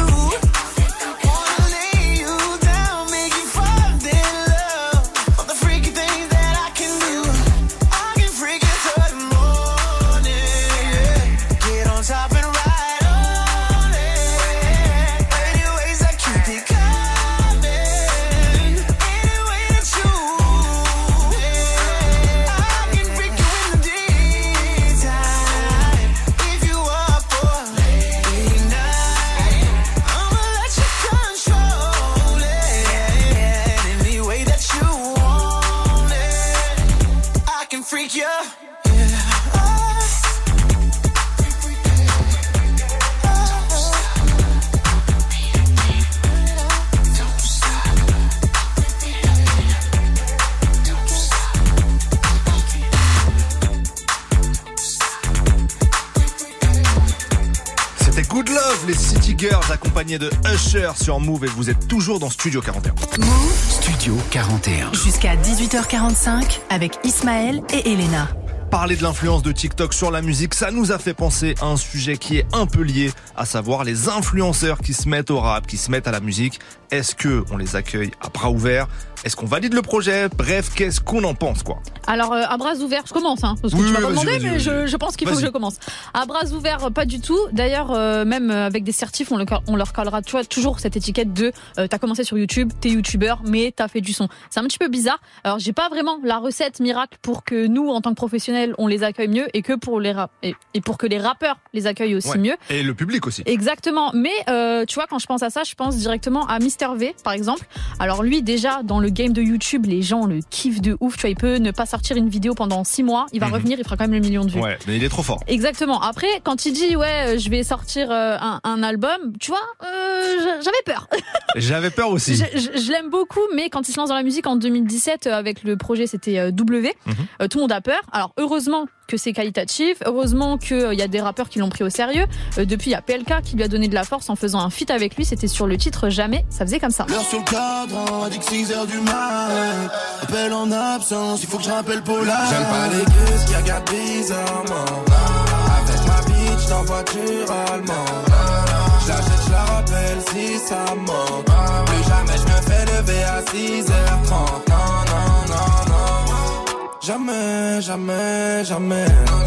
C'était Good Love, les City Girls accompagnés de Usher sur Move et vous êtes toujours dans Studio quarante et un. Move Studio quarante et un. Jusqu'à dix-huit heures quarante-cinq avec Ismaël et Elena. Parler de l'influence de TikTok sur la musique, ça nous a fait penser à un sujet qui est un peu lié, à savoir les influenceurs qui se mettent au rap, qui se mettent à la musique. Est-ce que on les accueille à bras ouverts? Est-ce qu'on valide le projet? Bref, qu'est-ce qu'on en pense, quoi? Alors, euh, à bras ouverts, je commence, hein, parce que oui, tu m'as oui, pas demandé, vas-y, mais vas-y, je, vas-y. je pense qu'il faut Vas-y. que je commence. À bras ouverts, pas du tout. D'ailleurs, euh, même avec des certifs, on, le, on leur collera, tu vois, toujours cette étiquette de euh, t'as commencé sur YouTube, t'es youtubeur, mais t'as fait du son. C'est un petit peu bizarre. Alors, j'ai pas vraiment la recette miracle pour que nous, en tant que professionnels, on les accueille mieux et que pour les rap et, et pour que les rappeurs les accueillent aussi Ouais. mieux. Et le public aussi. Exactement, mais euh, tu vois, quand je pense à ça, je pense directement à Mister V, par exemple. Alors lui, déjà, dans le game de YouTube, les gens le kiffent de ouf. Tu vois, il peut ne pas sortir une vidéo pendant six mois, il va Mhm. revenir, il fera quand même le million de vues. Ouais, mais il est trop fort. Exactement. Après, quand il dit ouais, je vais sortir euh, un, un album, tu vois, euh, j'avais peur. J'avais peur aussi. Je, je- je l'aime beaucoup, mais quand il se lance dans la musique en deux mille dix-sept euh, avec le projet, c'était euh, W. Mhm. euh, tout le monde a peur. Alors heureusement que c'est qualitatif, heureusement qu'il euh, y a des rappeurs qui l'ont pris au sérieux. Euh, depuis, il y a P L K qui lui a donné de la force en faisant un feat avec lui. C'était sur le titre Jamais. Ça faisait comme ça. L'heure sur le cadran, a dit que six heures du mat. Appel en absence, il faut que je rappelle Paula. J'aime pas les gus qui regardent bizarrement. Avec ma bitch dans voiture allemande. Je l'achète, je la rappelle si ça manque. Plus jamais je me fais lever à six heures trente. Non, non, non, non. Jamais, jamais, jamais.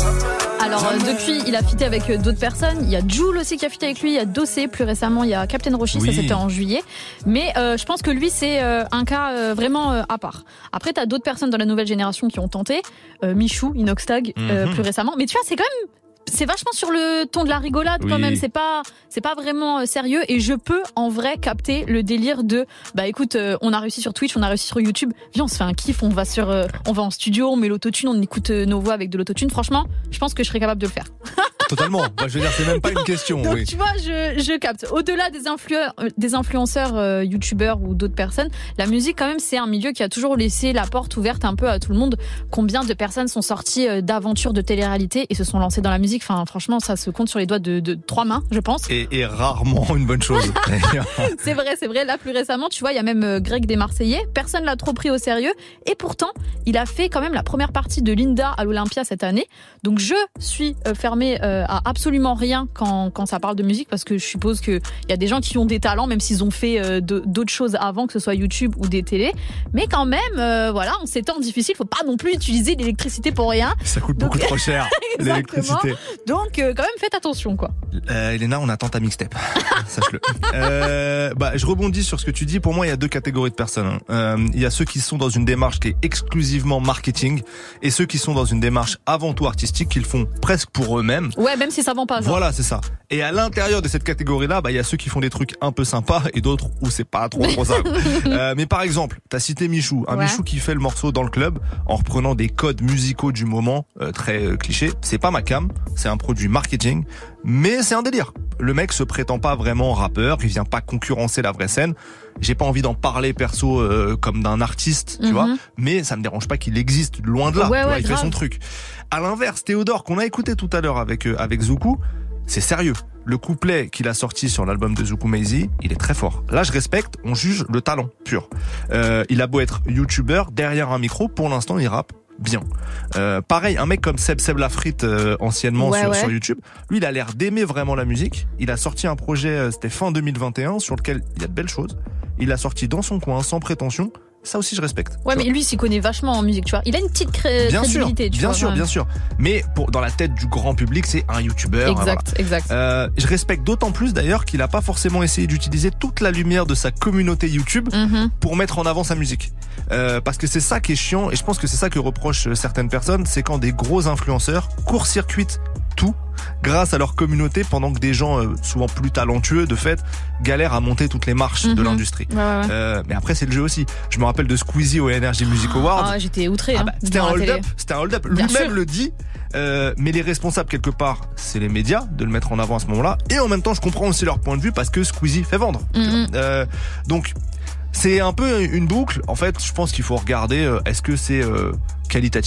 Alors euh, Jamais. depuis, il a fité avec euh, d'autres personnes. Il y a Jul aussi qui a fité avec lui. Il y a Dossé plus récemment. Il y a Captain Roshi. Oui. Ça c'était en juillet. Mais euh, je pense que lui c'est euh, un cas euh, vraiment euh, à part. Après t'as d'autres personnes dans la nouvelle génération qui ont tenté. Euh, Michou, Inoxtag euh, Mhm. plus récemment. Mais tu vois c'est quand même c'est vachement sur le ton de la rigolade quand Oui. même. C'est pas c'est pas vraiment euh, sérieux. Et je peux en vrai capter le délire de bah écoute euh, on a réussi sur Twitch, on a réussi sur YouTube. Viens on se fait un kiff. On va sur euh, on va en studio, on met l'autotune, on écoute euh, nos voix avec de l'autotune. Franchement, je pense que je serais capable de le faire. Totalement. Bah, je veux dire, c'est même pas une question. Donc oui. tu vois, je, je capte. Au-delà des, influ- euh, des influenceurs, euh, youtubeurs ou d'autres personnes, la musique quand même c'est un milieu qui a toujours laissé la porte ouverte un peu à tout le monde. Combien de personnes sont sorties euh, d'aventures de télé-réalité et se sont lancées dans la musique? Enfin franchement ça se compte sur les doigts de, de trois mains je pense. Et, et rarement une bonne chose. C'est vrai, c'est vrai. Là, plus récemment, tu vois, il y a même euh, Greg des Marseillais. Personne l'a trop pris au sérieux. Et pourtant, il a fait quand même la première partie de Linda à l'Olympia cette année. Donc, je suis euh, fermée euh, à absolument rien quand, quand ça parle de musique parce que je suppose qu'il y a des gens qui ont des talents, même s'ils ont fait euh, de- d'autres choses avant, que ce soit YouTube ou des télés. Mais quand même, euh, voilà, en ces temps difficiles, faut pas non plus utiliser l'électricité pour rien. Ça coûte beaucoup trop cher, Exactement. l'électricité. Donc, euh, quand même, faites attention, quoi. Euh, Elena, on attend ta mixtape. Sache-le. Euh, bah, je rebondis sur ce que tu dis. Pour moi, il y a deux catégories de personnes. hein. Euh, il y a ceux qui sont dans une démarche qui est exclusivement marketing et ceux qui sont dans une démarche avant tout artistique qu'ils font presque pour eux-mêmes. Ouais, même si ça vend pas. genre. Voilà, c'est ça. Et à l'intérieur de cette catégorie-là, bah, il y a ceux qui font des trucs un peu sympas et d'autres où c'est pas trop trop ça. euh, mais par exemple, t'as cité Michou. Un Ouais. Michou qui fait le morceau dans le club en reprenant des codes musicaux du moment, euh, très euh, clichés. C'est pas ma cam, c'est un produit marketing, mais c'est un délire. Le mec se prétend pas vraiment rappeur, il vient pas concurrencer la vraie scène. J'ai pas envie d'en parler perso euh, comme d'un artiste, tu Mhm. vois, mais ça me dérange pas qu'il existe, loin de là. Ouais, Tu vois, ouais, il fait grave. son truc. À l'inverse, Théodore qu'on a écouté tout à l'heure avec euh, avec Zoukou, c'est sérieux. Le couplet qu'il a sorti sur l'album de Zoukou Maizy, il est très fort. Là, je respecte, on juge le talent pur. Euh, il a beau être youtubeur, derrière un micro, pour l'instant, il rappe bien. Euh, pareil, un mec comme Seb Seb Lafrite, euh, anciennement Ouais, sur, ouais. sur YouTube, lui, il a l'air d'aimer vraiment la musique. Il a sorti un projet, euh, c'était fin deux mille vingt et un, sur lequel il y a de belles choses. Il l'a sorti dans son coin, sans prétention. Ça aussi, je respecte. Ouais, Tu mais vois. lui, il s'y connaît vachement en musique, tu vois. Il a une petite cré- Bien sûr, crédibilité, tu bien vois. sûr, ouais. bien sûr. Mais pour, dans la tête du grand public, c'est un youtubeur. Exact, exact. Euh, je respecte d'autant plus d'ailleurs qu'il a pas forcément essayé d'utiliser toute la lumière de sa communauté YouTube Mhm. pour mettre en avant sa musique. Euh, parce que c'est ça qui est chiant et je pense que c'est ça que reprochent certaines personnes, c'est quand des gros influenceurs court-circuitent tout grâce à leur communauté pendant que des gens euh, souvent plus talentueux de fait galèrent à monter toutes les marches de Mhm. l'industrie. Ouais, ouais, ouais. Euh, mais après c'est le jeu aussi. Je me rappelle de Squeezie au Energy Music Awards. Ah, j'étais outré. Ah hein, bah, c'était devant un la télé. hold-up, c'était un hold-up. Bien Lui-même sûr. le dit. Euh, mais les responsables quelque part, c'est les médias de le mettre en avant à ce moment-là. Et en même temps, je comprends aussi leur point de vue parce que Squeezie fait vendre. tu Mhm. vois. Euh, donc c'est un peu une boucle. En fait, je pense qu'il faut regarder euh, est-ce que c'est euh, qualitatif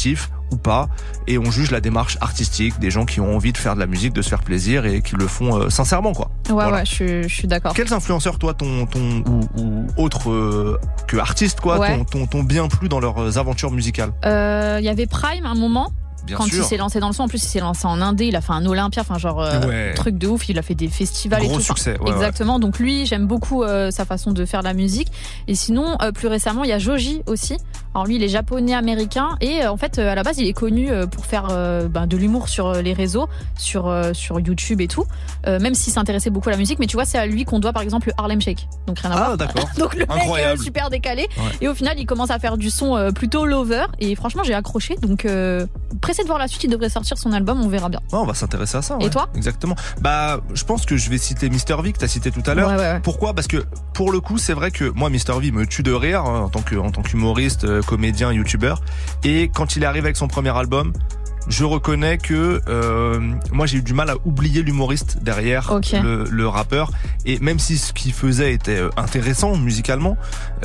ou pas, et on juge la démarche artistique des gens qui ont envie de faire de la musique, de se faire plaisir et qui le font euh, sincèrement, quoi. Ouais, voilà. ouais, je suis, je suis d'accord. Quels influenceurs, toi, ton, ton ou, ou autres euh, que artistes, quoi, ouais. t'ont, t'ont, t'ont bien plu dans leurs aventures musicales? Il euh, y avait Prime à un moment. Bien quand sûr. il s'est lancé dans le son, en plus il s'est lancé en Indé, il a fait un Olympia, enfin genre euh, ouais. truc de ouf, il a fait des festivals Gros et tout. succès, enfin, ouais, exactement. Ouais. Donc lui, j'aime beaucoup euh, sa façon de faire la musique. Et sinon, euh, plus récemment, il y a Joji aussi. Alors lui, il est japonais-américain et euh, en fait, euh, à la base, il est connu euh, pour faire euh, ben, de l'humour sur euh, les réseaux, sur euh, sur YouTube et tout. Euh, même s'il s'intéressait beaucoup à la musique, mais tu vois, c'est à lui qu'on doit par exemple le Harlem Shake. Donc rien à ah, voir. D'accord. Donc le Incroyable. mec euh, super décalé. Ouais. Et au final, il commence à faire du son euh, plutôt lover. Et franchement, j'ai accroché. Donc euh, pressé de voir la suite. Il devrait sortir son album. On verra bien. Oh, on va s'intéresser à ça. Ouais. Et toi? Exactement. Bah, je pense que je vais citer Mister V que t'as cité tout à l'heure. Ouais, ouais, ouais. Pourquoi? Parce que pour le coup, c'est vrai que moi, Mister V me tue de rire hein, en tant que en tant qu'humoriste, euh, comédien, youtubeur. Et quand il est arrivé avec son premier album, je reconnais que euh, moi j'ai eu du mal à oublier l'humoriste derrière okay. le, le rappeur, et même si ce qu'il faisait était intéressant musicalement,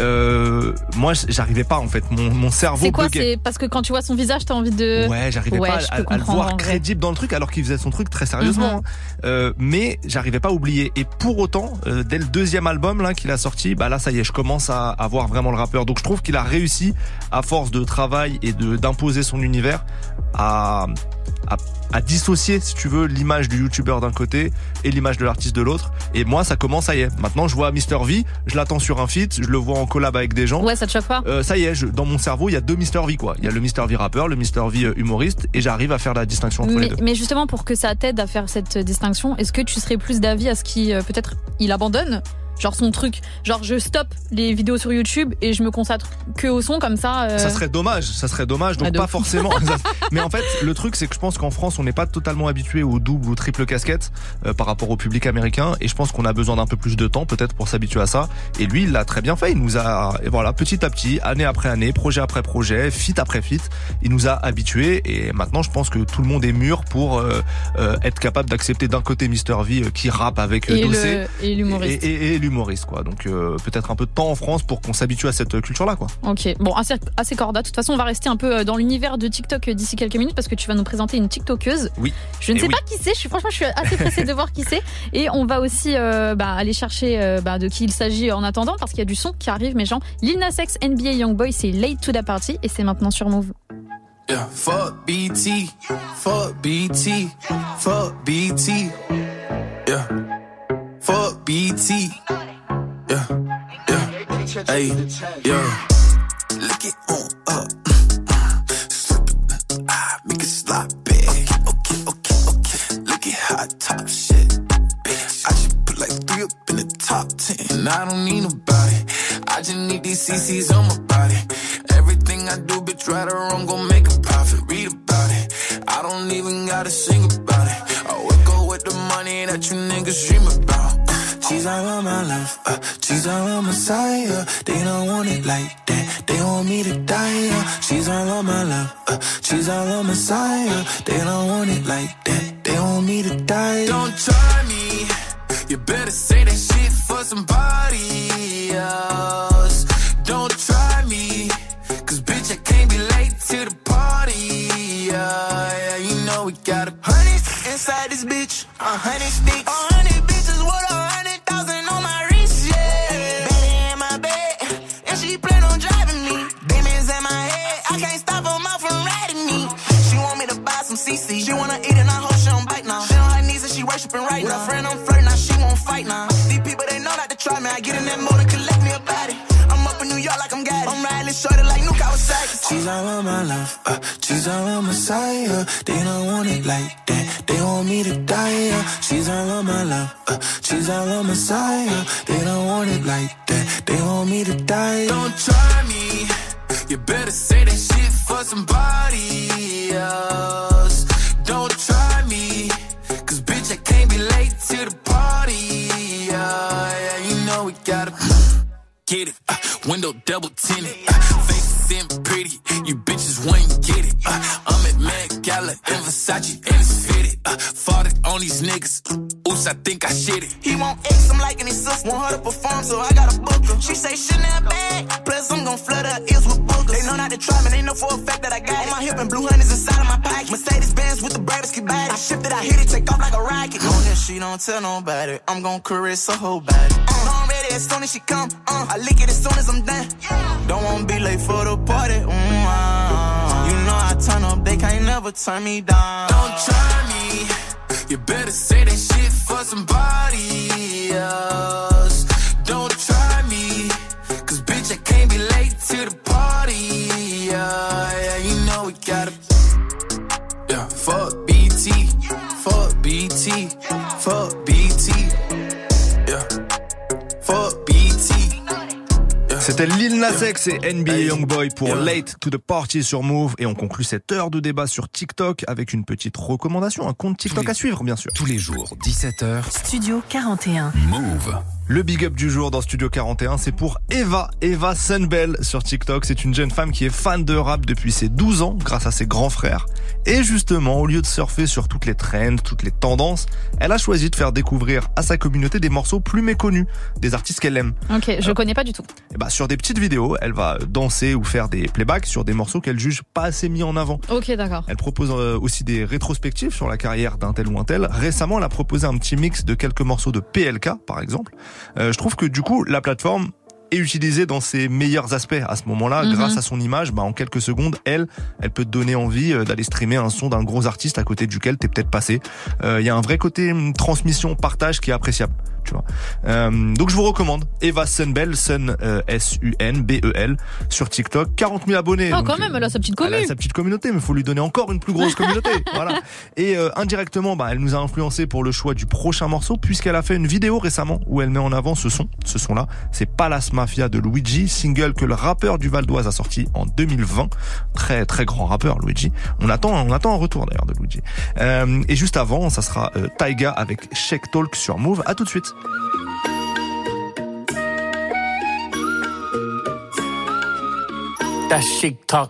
euh, moi j'arrivais pas en fait, mon, mon cerveau c'est quoi buguait. C'est parce que quand tu vois son visage t'as envie de ouais j'arrivais ouais, pas à, à le voir crédible dans le truc alors qu'il faisait son truc très sérieusement mm-hmm. hein. euh, mais j'arrivais pas à oublier, et pour autant euh, dès le deuxième album là qu'il a sorti, bah là ça y est je commence à, à voir vraiment le rappeur, donc je trouve qu'il a réussi à force de travail et de d'imposer son univers à À, à, à dissocier si tu veux l'image du youtubeur d'un côté et l'image de l'artiste de l'autre, et moi ça commence, ça y est, maintenant je vois Mister V, je l'attends sur un feat, je le vois en collab avec des gens, ouais ça te choque pas euh, ça y est, je, dans mon cerveau il y a deux Mister V quoi, il y a le Mister V rappeur, le Mister V humoriste, et j'arrive à faire la distinction entre mais, les deux. Mais justement pour que ça t'aide à faire cette distinction, est-ce que tu serais plus d'avis à ce qu'il euh, peut-être il abandonne genre son truc, genre je stoppe les vidéos sur YouTube et je me consacre que au son comme ça euh... ça serait dommage, ça serait dommage, donc ah, pas forcément mais en fait le truc c'est que je pense qu'en France on n'est pas totalement habitué au double ou triple casquette euh, par rapport au public américain, et je pense qu'on a besoin d'un peu plus de temps peut-être pour s'habituer à ça, et lui il l'a très bien fait, il nous a, et voilà, petit à petit, année après année, projet après projet, feat après feat, il nous a habitués, et maintenant je pense que tout le monde est mûr pour euh, euh, être capable d'accepter d'un côté Mister V euh, qui rappe avec euh, et Dossé le, et l'humoriste et, et, et l'humoriste quoi, donc euh, peut-être un peu de temps en France pour qu'on s'habitue à cette culture là quoi. Ok, bon assez, assez corda, de toute façon on va rester un peu dans l'univers de TikTok d'ici quelques minutes parce que tu vas nous présenter une TikTokeuse. Oui. Je ne et sais oui. pas qui c'est, je suis, franchement je suis assez pressée de voir qui c'est, et on va aussi euh, bah, aller chercher euh, bah, de qui il s'agit en attendant, parce qu'il y a du son qui arrive mes gens. Lil Nas X, N B A Youngboy, c'est Late to the Party et c'est maintenant sur Move. Yeah, fuck B T, fuck B T, fuck B T, yeah, fuck B T, yeah, yeah, hey, yeah, lick it on up, slip it, ah, make it sloppy, okay, okay, okay, okay, look at hot top shit, bitch, I just put like three up in the top ten, and I don't need nobody, I just need these C Cs on my body. Everything I do, bitch, right or wrong, gon' make a profit. Read about it. I don't even gotta sing about it. I wake up with the money that you niggas dream about. She's all on my life. Uh, she's all on my side. Uh, they don't want it like that. They want me to die. Uh, she's all on my life. Uh, she's all on my side. Uh, they don't want it like that. They want me to die. Don't try me. You better say that shit for somebody else. Don't try me. Cause bitch, I can't be late to the party. Yeah, yeah, you know we got a hundred inside this bitch. A hundred sticks. A hundred bitches with a hundred thousand on my wrist, yeah. Better in my bed, and she plan on driving me. Demons in my head, I can't stop her mouth from riding me. She want me to buy some C C. She wanna eat and I hope she don't bite now. She on her knees and she worshiping right now. With a friend I'm flirting, now she won't fight now. These people, they know not to try me. I get in that mode and collect me a body. I'm up in New York like I'm got it. I'm riding shorty like Nuke Kawasaki. She's all on my life, uh, she's all on my side. Uh, they don't want it like that. They want me to die. Uh, she's all on my life, uh, she's all on my side. Uh, they don't want it like that. They want me to die. Don't try me. You better say that shit for somebody else. Don't try me. Cause bitch, I can't be late to the party. Yeah, yeah, you know we gotta get it, uh, window double tinted, uh, face sitting pretty, you bitches wouldn't get it, uh, I'm at Met Gala in Versace and it's fitted, uh, fought it on these niggas, ooh close, I think I shit it. He want X, I'm liking his sister. Want her to perform, so I gotta book her. She say Chanel bag, plus I'm gon' flood her ears with boogers. They know not to try me, they know for a fact that I got it. On my hip and blue honey's inside of my pocket. Mercedes Benz with the Bradesky bag. I shipped it, I hit it, take off like a rocket. On that she don't tell nobody, I'm gon' caress her whole body. Uh, know I'm ready as soon as she come, uh, I lick it as soon as I'm done. Don't wanna be late for the party, mm, uh, you know I turn up, they can't never turn me down. Don't try me, you better say that shit for somebody else. Don't try me, cause bitch I can't be late to the party. Yeah, yeah, you know we gotta. Yeah, fuck B T, fuck B T, fuck B T. Yeah, fuck B T. C'était Lil Nas X et N B A Youngboy pour Late to the Party sur Move. Et on conclut cette heure de débat sur TikTok avec une petite recommandation, un compte TikTok à suivre bien sûr. Tous les jours, dix-sept heures. Studio quarante et un. Move. Le big up du jour dans Studio quarante et un, c'est pour Eva, Eva Sunbell sur TikTok. C'est une jeune femme qui est fan de rap depuis ses douze ans grâce à ses grands frères. Et justement, au lieu de surfer sur toutes les trends, toutes les tendances, elle a choisi de faire découvrir à sa communauté des morceaux plus méconnus, des artistes qu'elle aime. Ok, je euh, connais pas du tout. Et bah, sur des petites vidéos, elle va danser ou faire des playbacks sur des morceaux qu'elle juge pas assez mis en avant. Ok, d'accord. Elle propose euh, aussi des rétrospectives sur la carrière d'un tel ou un tel. Récemment, elle a proposé un petit mix de quelques morceaux de P L K, par exemple. Euh, je trouve que du coup, la plateforme est utilisée dans ses meilleurs aspects à ce moment-là, mm-hmm. grâce à son image. Bah, en quelques secondes, elle, elle peut te donner envie d'aller streamer un son d'un gros artiste à côté duquel t'es peut-être passé. Il euh, y a un vrai côté transmission, partage qui est appréciable. Tu vois. Euh, donc je vous recommande Eva Sunbell, Sun euh, S U N B E L sur TikTok, quarante mille abonnés. Oh donc, quand même, elle a sa petite communauté. Elle a sa petite communauté, mais faut lui donner encore une plus grosse communauté. Voilà. Et euh, indirectement, bah, elle nous a influencé pour le choix du prochain morceau puisqu'elle a fait une vidéo récemment où elle met en avant ce son. Ce son-là, c'est Palace Mafia de Luigi, single que le rappeur du Val d'Oise a sorti en deux mille vingt. Très très grand rappeur Luigi. On attend, on attend un retour d'ailleurs de Luigi. Euh, et juste avant, ça sera euh, Taiga avec Shake Talk sur Move. À tout de suite. That chic talk.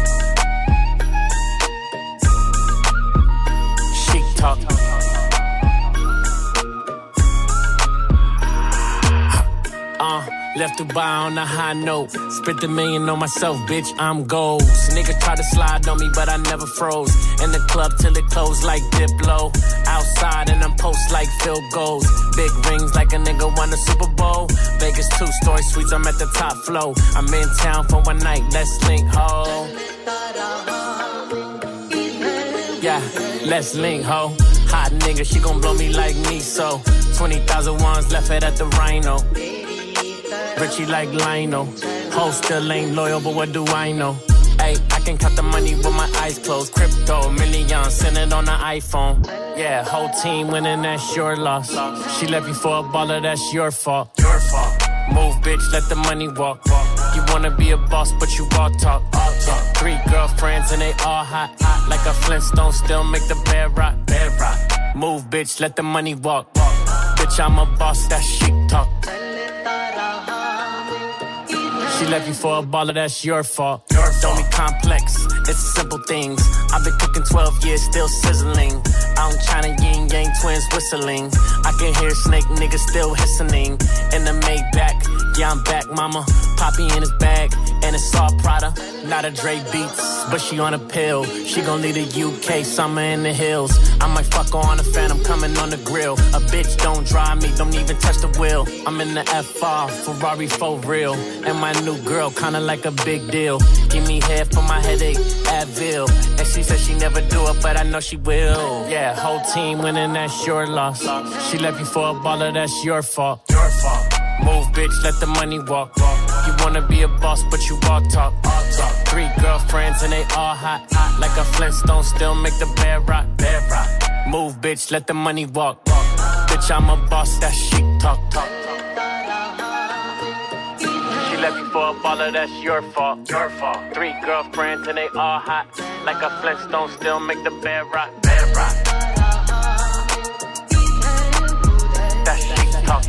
Chic talk. Uh, left Dubai on a high note. Spent a million on myself, bitch, I'm goals. Niggas try to slide on me, but I never froze. In the club till it closed like Diplo. Outside and I'm post like field goals. Big rings like a nigga won a Super Bowl. Vegas two-story suites, I'm at the top floor. I'm in town for one night, let's link, ho. Yeah, let's link, ho. Hot nigga, she gon' blow me like me, so twenty thousand ones left it at the Rhino. Richie like Lionel. Ho still ain't loyal, but what do I know? Ay, I can count the money with my eyes closed. Crypto, millions, send it on the iPhone. Yeah, whole team winning, that's your loss. She left you for a baller, that's your fault. Your fault. Move, bitch, let the money walk. You wanna be a boss, but you all talk. Three girlfriends and they all hot. Like a Flintstone, still make the bed rock. Bed rock. Move, bitch, let the money walk. Bitch, I'm a boss, that's chic talk. She left you for a baller, that's your fault. Your Don't be complex, it's simple things. I've been cooking twelve years, still sizzling. Out in China, yin yang twins whistling. I can hear snake niggas still hissing. In the Maybach, yeah I'm back, mama. Poppy in his bag, and it's all Prada. Not a Dre Beats, but she on a pill. She gon' leave the U K, summer in the hills. I might fuck her on the fan, I'm coming on the grill. A bitch don't drive me, don't even touch the wheel. I'm in the F R, Ferrari for real. And my new girl, kinda like a big deal. Give me head for my headache, Advil. And she said she never do it, but I know she will. Yeah, whole team winning, that's your loss. She left you for a baller, that's your fault. Your fault. Move, bitch, let the money walk. You wanna be a boss, but you all talk. Three girlfriends and they all hot. Like a Flintstone, still make the bed rock. Bed rock. Move, bitch, let the money walk. Bitch, I'm a boss, that's chic talk. She left you for a baller, that's your fault. Your fault. Three girlfriends and they all hot. Like a Flintstone, still make the bed rock. Bed rock. That's chic talk.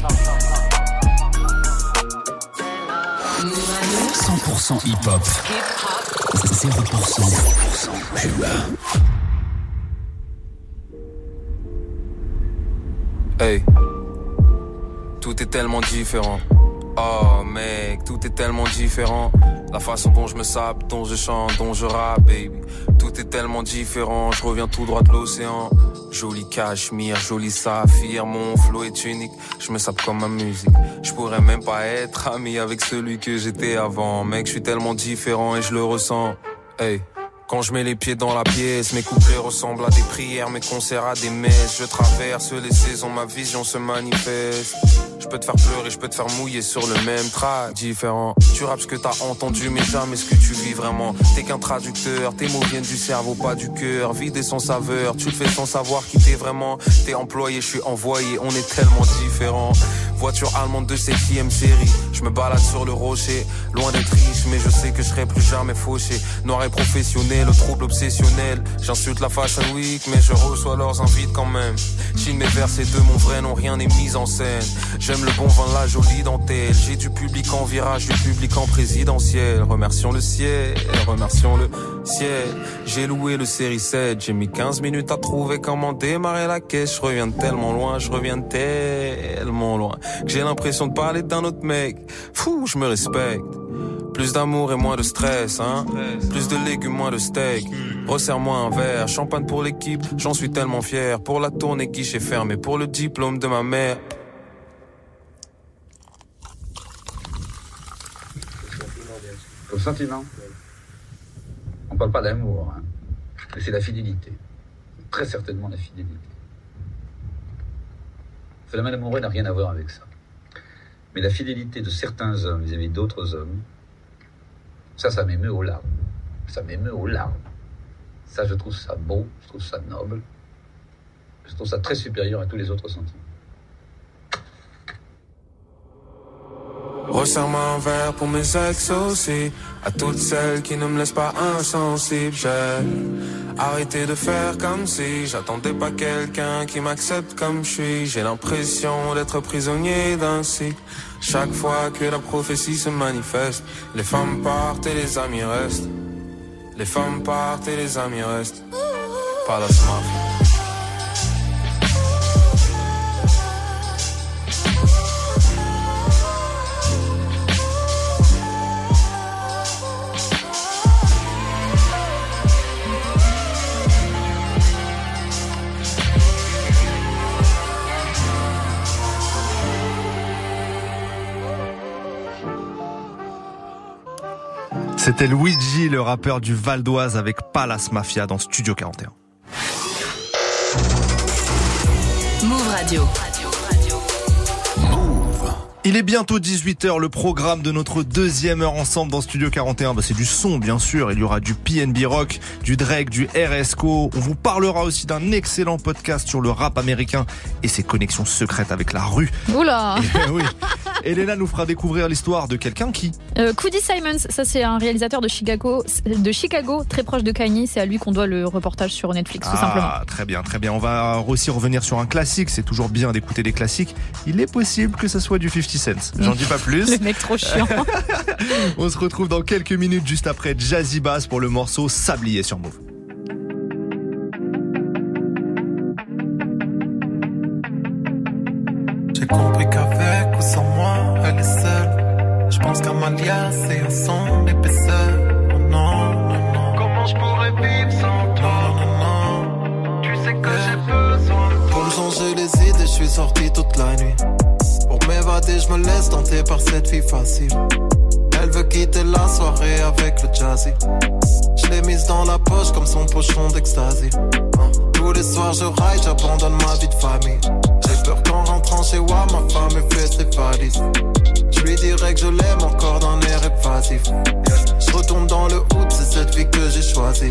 cent pour cent hip-hop. zéro pour cent pub. Hey, tout est tellement différent. Oh mec, tout est tellement différent. La façon dont je me sape, dont je chante, dont je rappe, baby. Tout est tellement différent, je reviens tout droit de l'océan. Joli cachemire, joli saphir, mon flow est unique. Je me sape comme ma musique. Je pourrais même pas être ami avec celui que j'étais avant. Mec, je suis tellement différent et je le ressens. Hey. Quand je mets les pieds dans la pièce, mes couplets ressemblent à des prières, mes concerts à des messes. Je traverse les saisons, ma vision se manifeste. Je peux te faire pleurer, je peux te faire mouiller sur le même track. Différent, tu rappes ce que t'as entendu, mais jamais ce que tu vis vraiment. T'es qu'un traducteur, tes mots viennent du cerveau, pas du cœur. Vide et sans saveur, tu le fais sans savoir qui t'es vraiment. T'es employé, je suis envoyé, on est tellement différents. Voiture allemande de septième série, je me balade sur le rocher. Loin d'être riche, mais je sais que je serai plus jamais fauché. Noir et professionnel, le trouble obsessionnel. J'insulte la Fashion Week, mais je reçois leurs invites quand même. Chine mes versets de mon vrai nom, rien n'est mis en scène. J'aime le bon vin, la jolie dentelle. J'ai du public en virage, du public en présidentiel. Remercions le ciel, remercions le ciel. J'ai loué le série sept, j'ai mis quinze minutes à trouver comment démarrer la caisse. Je reviens de tellement loin, je reviens de tellement loin que j'ai l'impression de parler d'un autre mec. Fou, je me respecte. Plus d'amour et moins de stress, hein. Plus de légumes, moins de steak. Resserre-moi un verre, champagne pour l'équipe. J'en suis tellement fier. Pour la tournée, guichet fermé. Pour le diplôme de ma mère. Le sentiment, on parle pas d'amour, hein, mais c'est la fidélité. Très certainement la fidélité. Le phénomène amoureux n'a rien à voir avec ça. Mais la fidélité de certains hommes vis-à-vis d'autres hommes, ça, ça m'émeut aux larmes. Ça m'émeut aux larmes. Ça, je trouve ça beau, je trouve ça noble. Je trouve ça très supérieur à tous les autres sentiments. Resserre-moi un verre pour mes ex aussi. À toutes celles qui ne me laissent pas insensible. J'ai arrêté de faire comme si j'attendais pas quelqu'un qui m'accepte comme je suis. J'ai l'impression d'être prisonnier d'un cycle. Chaque fois que la prophétie se manifeste, les femmes partent et les amis restent. Les femmes partent et les amis restent. Pas la smart. C'était Luigi, le rappeur du Val d'Oise avec Palace Mafia dans Studio quarante et un. Move Radio. Il est bientôt dix-huit heures, le programme de notre deuxième heure ensemble dans Studio quarante et un, bah c'est du son bien sûr, il y aura du P N B Rock, du Drake, du R S C O, on vous parlera aussi d'un excellent podcast sur le rap américain et ses connexions secrètes avec la rue. Oula. Et, oui. Elena nous fera découvrir l'histoire de quelqu'un qui... Euh, Coody Simons, ça c'est un réalisateur de Chicago, de Chicago, très proche de Kanye, c'est à lui qu'on doit le reportage sur Netflix, tout ah, simplement. Très bien, très bien. On va aussi revenir sur un classique, c'est toujours bien d'écouter des classiques. Il est possible que ça soit du cinquante Cent. J'en dis pas plus. Le mec trop chiant. On se retrouve dans quelques minutes juste après Jazzy Bass pour le morceau Sablier sur Move. J'ai compris qu'avec ou sans moi, elle est seule. Je pense qu'à m'alias et à son épaisseur. Oh non, non, non. Comment je pourrais vivre sans toi? Non, non, non. Tu sais que j'ai besoin de toi. Pour me changer les idées, je suis sorti toute la nuit. Pour m'évader, je me laisse tenter par cette fille facile. Elle veut quitter la soirée avec le jazzy. Je l'ai mise dans la poche comme son pochon d'ecstasy. Tous les soirs je raille, j'abandonne ma vie de famille. J'ai peur qu'en rentrant chez moi, ma femme ait fait ses valises. Je lui dirais que je l'aime encore d'un air évasif. Je retourne dans le hood, c'est cette vie que j'ai choisie.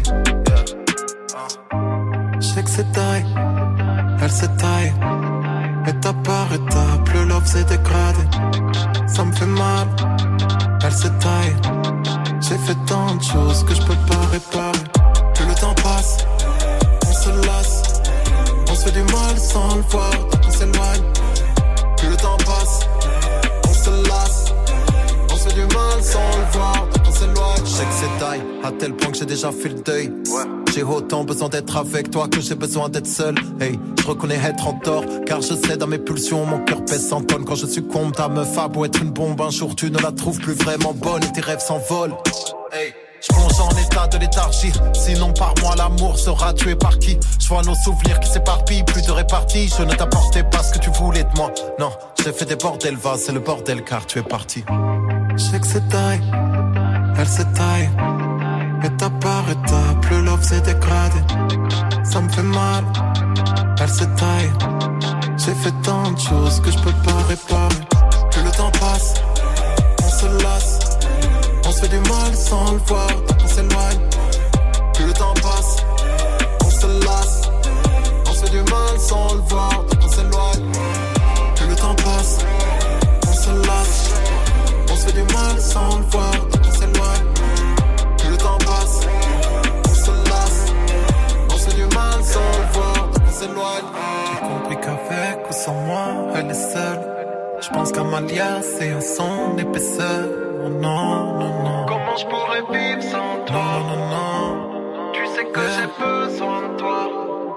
Je sais que c'est taille, elle s'est taille. Étape par étape, le love s'est dégradé. Ça me fait mal, elle s'est taille. J'ai fait tant de choses que je peux pas réparer. Plus le temps passe, on se lasse. On se fait du mal sans le voir, donc on s'éloigne. Plus le temps passe, on se lasse. On se fait du mal sans le voir, donc on s'éloigne. Je sais que c'est taille, à tel point que j'ai déjà fait le deuil. Ouais. J'ai autant besoin d'être avec toi que j'ai besoin d'être seul. Hey, je reconnais être en tort. Car je sais dans mes pulsions, mon cœur pèse cent tonnes. Quand je succombe, ta meuf a beau être une bombe, un jour tu ne la trouves plus vraiment bonne et tes rêves s'envolent. Hey. Je plonge en état de léthargie. Sinon par moi l'amour sera tué par qui? Je vois nos souvenirs qui s'éparpillent, plus de répartie. Je ne t'apportais pas ce que tu voulais de moi. Non, j'ai fait des bordels, va, c'est le bordel car tu es parti. Je sais que c'est taille, elle se taille. Étape par étape, le love s'est dégradé. Ça me fait mal, elle se taille. J'ai fait tant de choses que je peux pas réparer. Plus le temps passe, on se lasse. On se fait du mal sans le voir, tant qu'on s'éloigne. Plus le temps passe, on se lasse. On se fait du mal sans le voir, tant qu'on s'éloigne. Plus le temps passe, on se lasse. On se fait du mal sans le voir, tant qu'on s'éloigne. Plus le temps passe, on se lasse. On se fait du mal sans le voir, tant qu'on s'éloigne. J'ai compris qu'avec ou sans moi, elle est seule. Je pense qu'Amalia, c'est un son épaisseur. Oh non, non, non. Comment je pourrais vivre sans toi? Non, non, non. Tu sais que yeah. J'ai besoin de toi.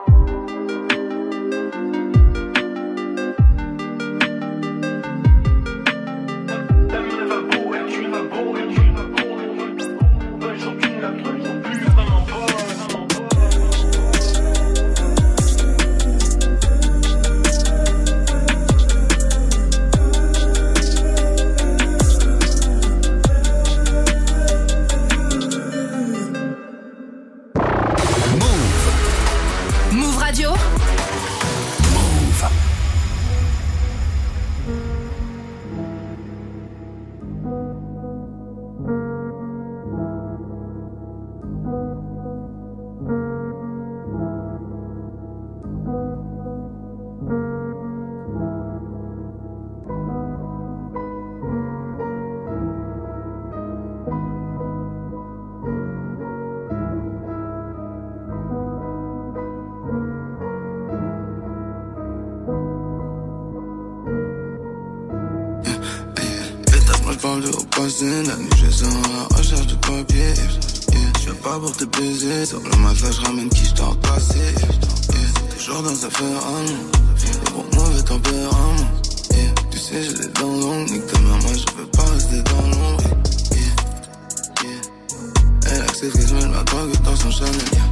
La nuit je sens la recherche de papier yeah. Je viens pas pour te baiser. Sur le matelas je ramène qui je t'en passé yeah. Toujours dans affaire à nous. Des gros mauvais tempéraments yeah. Tu sais j'ai les dents longues. Nique ta mère moi je veux pas rester dans l'ombre yeah. Yeah. Elle accepte que je mets la drogue dans son Chanel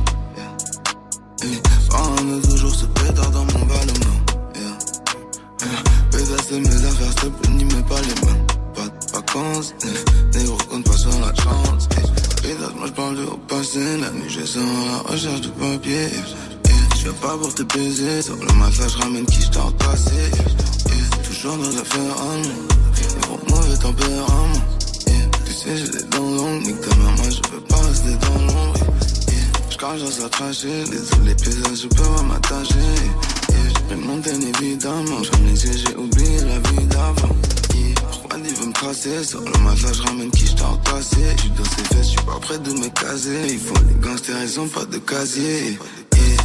yeah. Yeah. On a toujours ce pétard dans mon ballon yeah. Yeah. Pétasser mes affaires s'il te plaît n'y mets pas les mains. Vacances, négro compte pas sur la chance. Pédale, moi j'parle de au passé. La nuit je sens la recherche de papier yeah. J'viens pas pour te baiser. Sur le matelas j'ramène qui j't'en passé yeah. Toujours dans l'affaire à nous. Négro mauvais tempérament yeah. Tu sais j'ai les dents longues. Nique ta mère moi je veux pas rester dans l'ombre yeah. J'crache dans sa trachée. Désolé paysages je peux pas m'attacher yeah. J'ai pris mon thème évidemment. J'ferme les yeux j'ai oublié la vie d'avant. Il veut me tracer, sur le matelas je ramène qui je t'en passé. J'suis dans ses fesses, j'suis pas prêt de me caser. Il faut les gangsters, ils ont pas de casier yeah.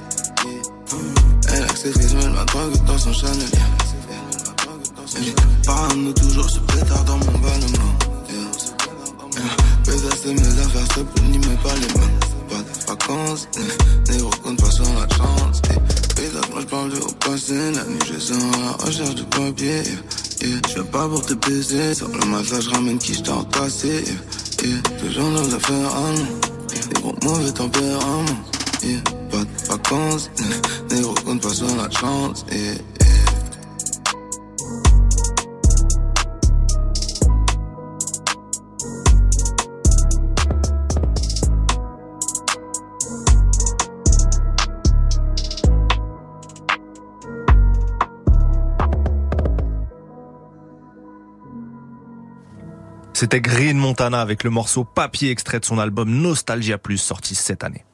Elle accepte qu'ils mettent la drogue dans son Chanel yeah. Parano toujours ce pétard dans mon ballon yeah. Pétasser mes affaires, s'il te plaît, n'y mets pas les mains. Pas de vacances, négro compte pas sur la chance yeah. Pétasse, moi j'parle de au passé. La nuit je sens la recherche de papier yeah. Yeah. Je viens pas pour te baiser. Sur le matelas je ramène qui je t'en passé yeah. Yeah. Toujours dans l'affaire à nous. Des gros mauvais tempéraments yeah. Pas de vacances yeah. Négro compte pas sur la chance yeah. C'était Green Montana avec le morceau Papier, extrait de son album Nostalgia Plus, sorti cette année.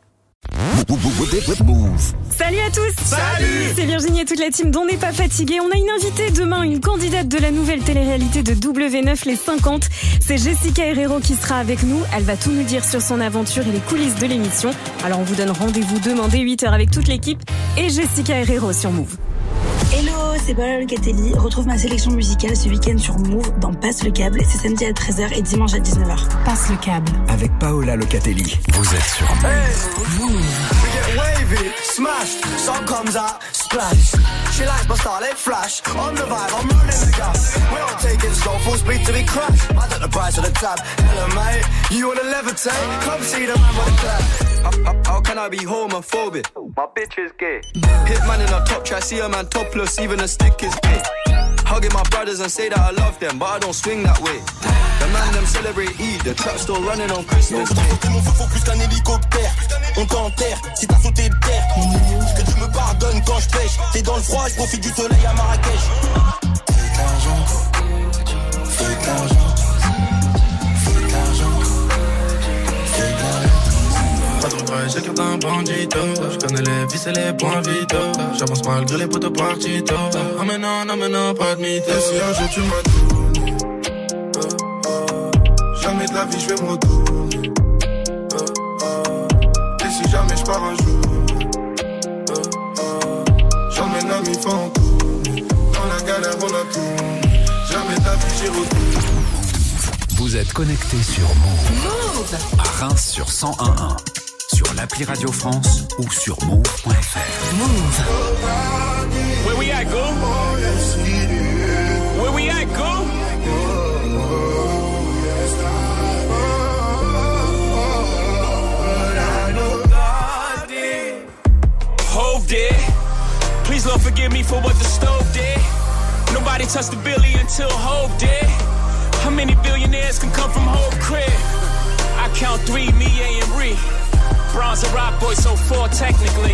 Salut à tous. Salut. C'est Virginie et toute la team d'On n'est pas fatigué. On a une invitée demain, une candidate de la nouvelle télé-réalité de W neuf les cinquante. C'est Jessica Herrero qui sera avec nous. Elle va tout nous dire sur son aventure et les coulisses de l'émission. Alors on vous donne rendez-vous demain dès huit heures avec toute l'équipe et Jessica Herrero sur Move. Hello, c'est Paola Locatelli. Retrouve ma sélection musicale ce week-end sur Move dans Passe le câble. C'est samedi à treize heures et dimanche à dix-neuf heures. Passe le câble. Avec Paola Locatelli. Vous êtes sur Move. Hey, Move. We get wavy, smashed, sun comes out, splash. She likes my style, it flash. On the vibe, I'm running the gas. We don't take it slow, full speed till we crash. I got the price of the tab. Hello, mate, you wanna levitate? Come see the man with the clap. How, how, how can I be homophobic? My bitch is gay. Hit man in a top try, see a man topless, even a stick is gay. Hugging my brothers and say that I love them, but I don't swing that way. The man them celebrate Eid, the trap still running on Christmas Day. Mon feu faut plus qu'un hélicoptère. On t'enterre si t'as sauté de terre. Que tu me pardonnes quand je pêche. T'es dans le froid, je profite du soleil à Marrakech. Fais de l'argent, fais de l'argent, fais de l'argent, fais de l'argent. Pas trop près, j'écarte un bandito. Je connais les vis et les points vitaux. J'avance malgré les potes partito. Ah mais non, non mais non, pas de mytho. Et si un jour tu m'as tourné, oh, oh, jamais de la vie je vais me retourner, oh, oh. Et si jamais je pars un jour, oh, oh, j'emmène l'ami fantôme. Dans la galère on a tout. Jamais de la vie j'y retourne. Vous êtes connecté sur Move. Move. À Reims sur cent un virgule un. Sur l'appli Radio France ou sur move point f r. Move. Where we at, go? Where we at, go? Hove did. Please Lord forgive me for what the stove did. Nobody touched the billy until Hove did. How many billionaires can come from Hove crib? I count three, me, A, and Ree. Bronze and rock boy, so four technically.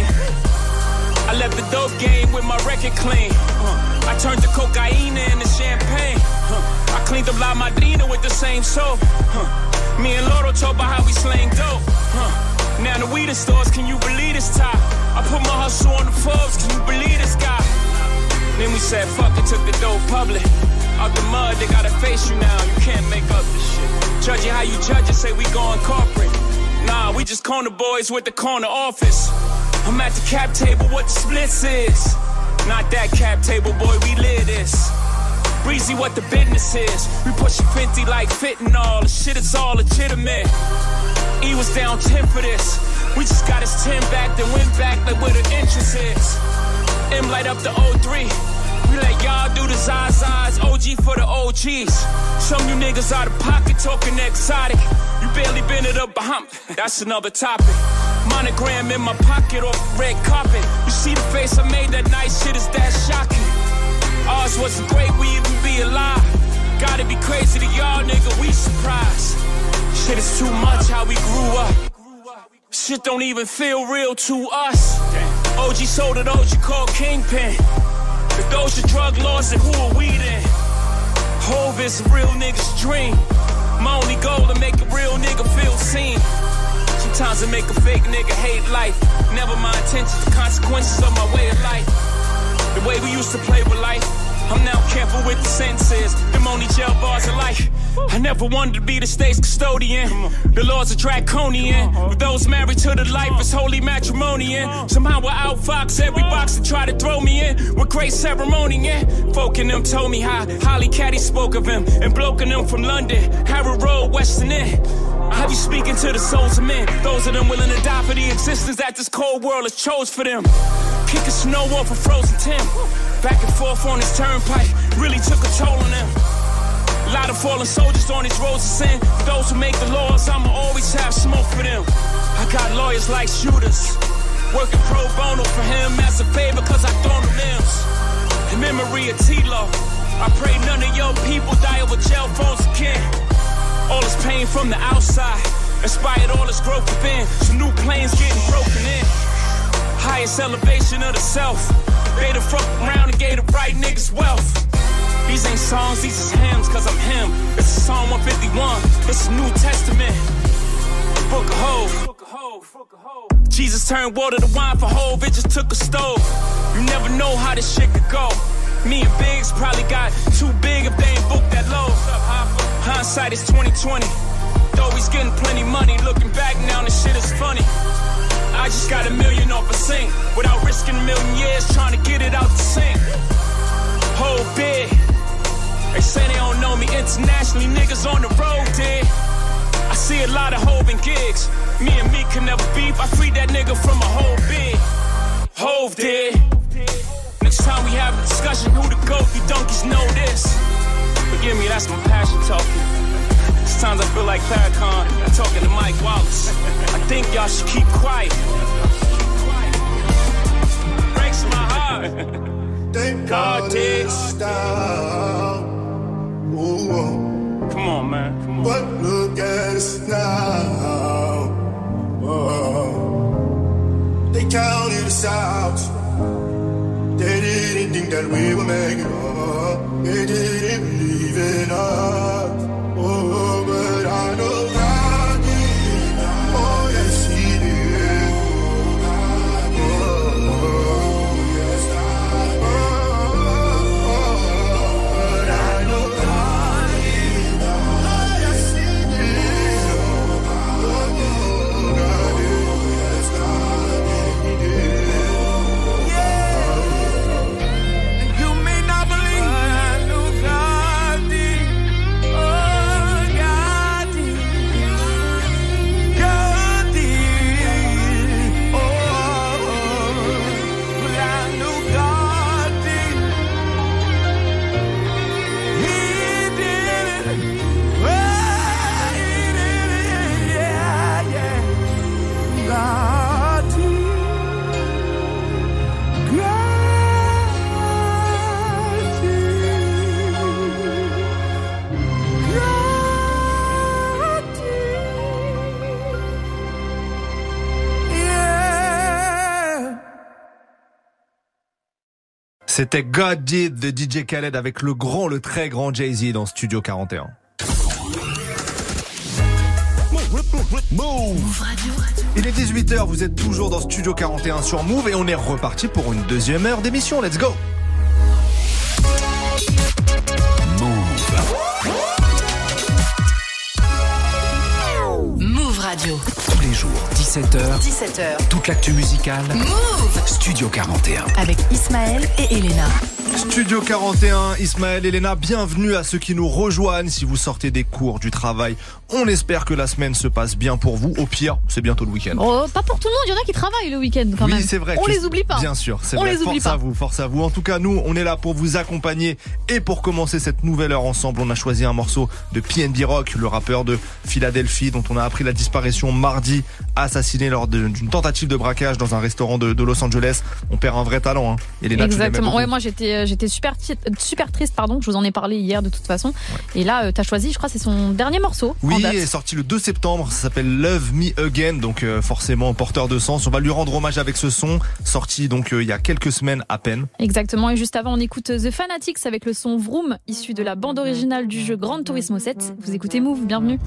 I left the dope game with my record clean. Uh, I turned the cocaine into champagne. Uh, I cleaned up La Madrina with the same soap. Uh, me and Loro talk about how we slang dope. Uh, now the weed stores, can you believe this top? I put my hustle on the Forbes, can you believe this guy? Then we said fuck it, took the dope public. Out the mud, they gotta face you now. You can't make up this shit. Judging how you judge it, say we going corporate. Nah, we just corner boys with the corner office. I'm at the cap table, what the splits is. Not that cap table, boy, we live this. Breezy, what the business is. We pushing fifty like fentanyl. The shit is all legitimate. E was down ten for this. We just got his ten back, then went back like where the interest is. M light up the oh three. We let y'all do the Zazas, O G for the O Gs. Some you niggas out of pocket talking exotic. You barely been it up behind. That's another topic. Monogram in my pocket off red carpet. You see the face I made that night, shit is that shocking. Ours wasn't great, we even be alive. Gotta be crazy to y'all, nigga, we surprised. Shit is too much how we grew up. Shit don't even feel real to us. O G sold it, O G called Kingpin. If those are drug laws, then who are we then? Hove is a real nigga's dream. My only goal to make a real nigga feel seen. Sometimes I make a fake nigga hate life. Never my intentions, the consequences of my way of life. The way we used to play with life, I'm now careful with the sentences. Them only jail bars of life. I never wanted to be the state's custodian. The laws are draconian. With those married to the life, it's holy matrimonian. Somehow I outfox every box that try to throw me in. With great ceremony, yeah. Folk in them told me how Holly Caddy spoke of him. And bloke in them from London, Harrow Road, Western End. I be speaking to the souls of men. Those of them willing to die for the existence that this cold world has chose for them. Kicking snow off a frozen Tim. Back and forth on this turnpike really took a toll on them. A lot of fallen soldiers on these roads of sin. For those who make the laws, I'ma always have smoke for them. I got lawyers like shooters, working pro bono for him as a favor cause I thrown the limbs. In memory of T-Lo, I pray none of your people die over jail phones again. All this pain from the outside inspired all this growth within. Some new planes getting broken in. Highest elevation of the self. They the fuck around and gave the right niggas wealth. These ain't songs, these is hymns, cause I'm him. This is Psalm one fifty-one, this is New Testament. Book of Hove. Jesus turned water to wine for Hove, it just took a stove. You never know how this shit could go. Me and Biggs probably got too big if they ain't booked that low. Hindsight is twenty twenty. Though he's getting plenty money, looking back now this shit is funny. I just got a million off a sink without risking a million years trying to get it out the sink. whole bit. They say they don't know me internationally, niggas on the road did. I see a lot of Hov and gigs. Me and me can never beef. I freed that nigga from a whole bit. Hov did. Next time we have a discussion, who the GOAT? You donkeys know this. Forgive me, that's my passion talking. Sometimes I feel like Farrakhan talking to Mike Wallace. I think y'all should keep quiet. Breaks my heart. God did. Come on, man. Come on. But look at us now. Oh. They counted us out. They didn't think that we would make it up. They didn't believe in us. Oh, but I know God did. Oh, yes, He did. Oh, yes, I oh, but I know God did. Oh, yes, He did. Oh, God did. Yes, God did. He did. C'était God Did de D J Khaled avec le grand, le très grand Jay-Z dans Studio quarante et un. Move Radio. Il est dix-huit heures, vous êtes toujours dans Studio quarante et un sur Move et on est reparti pour une deuxième heure d'émission. Let's go. Move Radio. Tous les jours, dix-sept heures. dix-sept heures. Toute l'actu musicale. Move Studio quarante et un. Avec Ismaël et Elena. Studio quarante et un, Ismaël, Elena, bienvenue à ceux qui nous rejoignent. Si vous sortez des cours, du travail, on espère que la semaine se passe bien pour vous. Au pire, c'est bientôt le week-end. Oh, pas pour tout le monde, il y en a qui travaillent le week-end quand oui, même. Oui, c'est vrai. On les oublie pas. Bien sûr, c'est on vrai. Les oublie force pas. à vous, force à vous. En tout cas, nous, on est là pour vous accompagner. Et pour commencer cette nouvelle heure ensemble, on a choisi un morceau de P N B Rock, le rappeur de Philadelphie, dont on a appris la disparition mardi, assassiné lors de, d'une tentative de braquage dans un restaurant de, de Los Angeles. On perd un vrai talent, hein. Elena, exactement. Ouais, moi j'étais, j'étais super, super triste, pardon. Je vous en ai parlé hier de toute façon. Ouais. Et là, euh, t'as choisi, je crois, c'est son dernier morceau. Oui, il est sorti le deux septembre. Ça s'appelle Love Me Again, donc euh, forcément porteur de sens. On va lui rendre hommage avec ce son, sorti donc euh, il y a quelques semaines à peine. Exactement. Et juste avant, on écoute The Fanatics avec le son Vroom, issu de la bande originale du jeu Gran Turismo sept. Vous écoutez Move, bienvenue.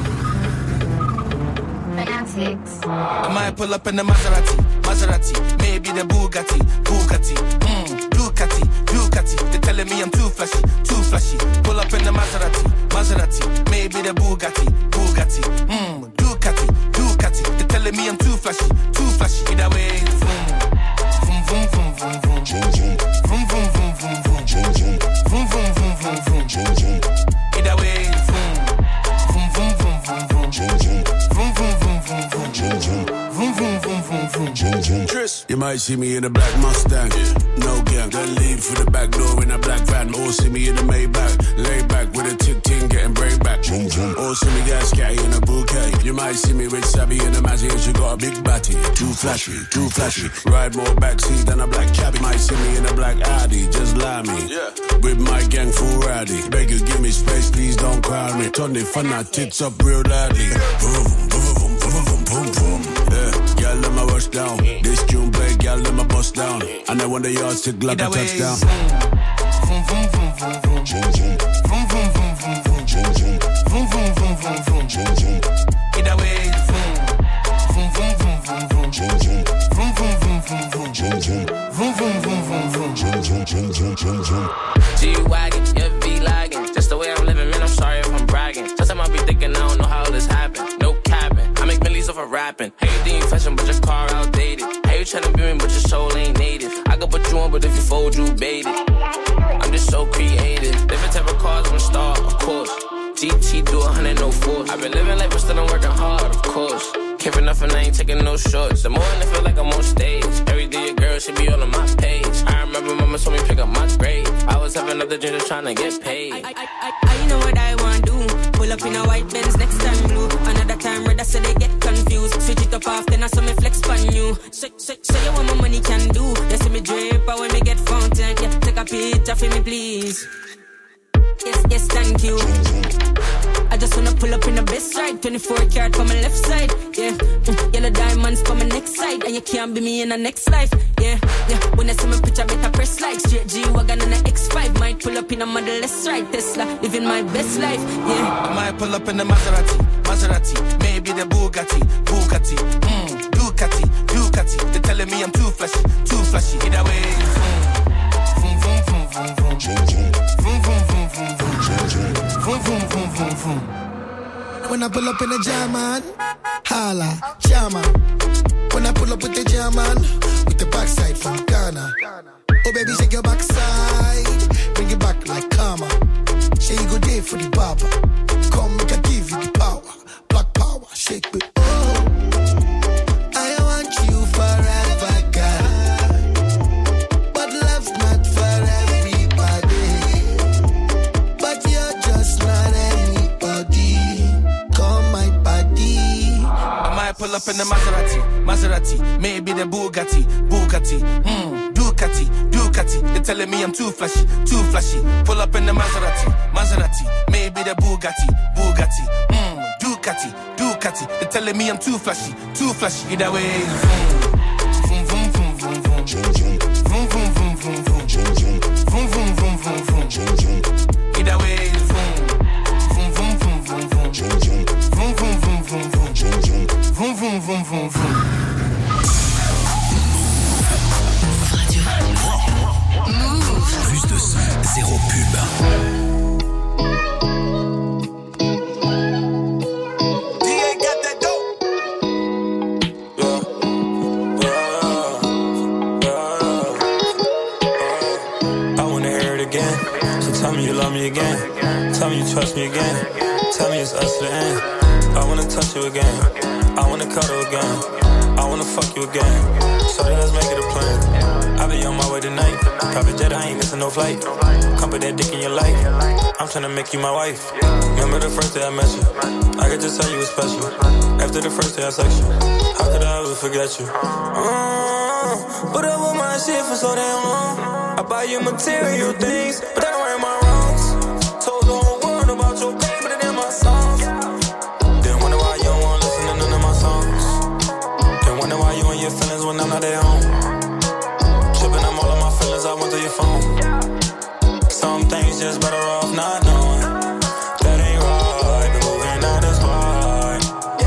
I might pull up in the Maserati, Maserati, maybe the Bugatti, Bugatti, mm, Ducati, Ducati. They're telling me I'm too flashy, too flashy. Pull up in the Maserati, Maserati, maybe the Bugatti, Bugatti, mm, Ducati, Ducati. They're telling me I'm too flashy, too flashy. Either way, vroom, vroom, vroom, vroom, vroom, vroom, vroom, vroom, vroom, vroom, vroom, vroom, vroom, vroom, vroom, vroom, vroom, vroom, vroom. Either way, vroom, vroom, vroom, vroom, vroom, vroom, vroom, vroom. You might see me in a black Mustang, no gang. Then leave through the back door in a black van. Or see me in a Maybach, lay back with a tick ting, getting break back. Or see me get scatty in a bouquet. You might see me with Savvy in a Mazzy and she got a big batty. Too flashy, too flashy. Ride more backseat than a black cabbie. Might see me in a black Audi, just lie me. With my gang full rowdy. Beg you give me space, please don't crowd me. Turn the fun out tits up real loudly. Boom, boom, boom, boom, boom, boom, boom. Yeah, girl, let my rush down. This tune play, girl, let my bust down. And I want the yards to like a touchdown. Vroom, vroom, vroom, vroom, vroom. Vroom, vroom, vroom, vroom, vroom. Vroom, vroom, vroom, vroom, vroom. Either way, vroom. Vroom, vroom, vroom, vroom, vroom. Vroom, vroom, vroom, vroom, vroom. Vroom, vroom, vroom, vroom, vroom. G-Wagon, yeah, V-Lagging. Just the way I'm living, man, I'm sorry if I'm bragging. Sometimes I be thinking I don't know how this happened. No capping, I make millions off of rapping. Hey, you think you fashion, but your car outdated. Hey, you tryna be me, but your soul ain't native. I could put you on, but if you fold, you bait it. I'm just course. G T do a hundred, no force. I've been living life, but still I'm working hard, of course. Care for nothing, I ain't taking no shorts. The more I feel like I'm on stage. Every day a girl should be all on my page. I remember mama told me pick up my grade. I was having other dreams just trying to get paid. I, I, I, I know what I want to do. Pull up in a white Benz, next time blue. Another time red, so they get confused. Switch it up often, I saw me flex on you. Show, show, show you what my money can do. You see me drip, but when me get fountain, yeah, take a picture for me, please. Yes, yes, thank you. I just wanna pull up in the best ride. twenty-four karat for my left side, yeah. Mm, yellow diamonds for my next side. And you can't be me in the next life, yeah, yeah. When I see my picture, better press like. Straight G-Wagon and the X five. Might pull up in a Model S ride. Tesla, living my best life, yeah. I might pull up in the Maserati, Maserati. Maybe the Bugatti, Bugatti. Mm, Ducati, Ducati. They're telling me I'm too flashy, too flashy. Either way, vroom, vroom, vroom, vroom, vroom, vroom. Vroom, vroom, vroom, vroom, vroom. Vroom, vroom, vroom, vroom, vroom. When I pull up in the German, holla, German. When I pull up with the German, with the backside from Ghana. Oh baby, shake your backside, bring it back like karma. Say you go there for the barber. Come make I give you the power, black power, shake it. Oh, I want you forever, girl. But love's not for everybody. But you're just not anybody. Come my body. I might pull up in the Maserati, Maserati. Maybe the Bugatti, Bugatti. Hmm, Ducati, Ducati. They're telling me I'm too flashy, too flashy. Pull up in the Maserati, Maserati. Maybe the Bugatti, Bugatti. Hmm, Ducati, Ducati. They're telling me I'm too flashy, too flashy. Either way, vroom, vroom, vroom, vroom, vroom, vroom. Vroom, vroom, vroom, vroom, vroom. Vroom, vroom, vroom, vroom, vroom. Either way, vroom, vroom, vroom, vroom, vroom, vroom. Vroom, vroom, vroom, vroom, vroom. Vroom, vroom, vroom, vroom, vroom. Move. Plus de son, zéro pub. Tell me you love me again. Tell me you trust me again. Tell me it's us to the end. I wanna touch you again. I wanna cuddle again. I wanna fuck you again. So let's make it a plan. I be on my way tonight. Private jet, I ain't missing no flight. Come put that dick in your life. I'm tryna make you my wife. Remember the first day I met you? I could just tell you was special. After the first day I sex you, how could I ever forget you? Uh, put up with my shit for so damn long. I buy you material things, but that don't right my wrongs. Told the whole world about your pain, but it in my songs. Then wonder why you don't wanna listen to none of my songs. Then wonder why you in your feelings when I'm not at home. Tripping, I'm all of my feelings, I went through your phone. Some things just better off not knowing. That ain't right, but moving out is hard.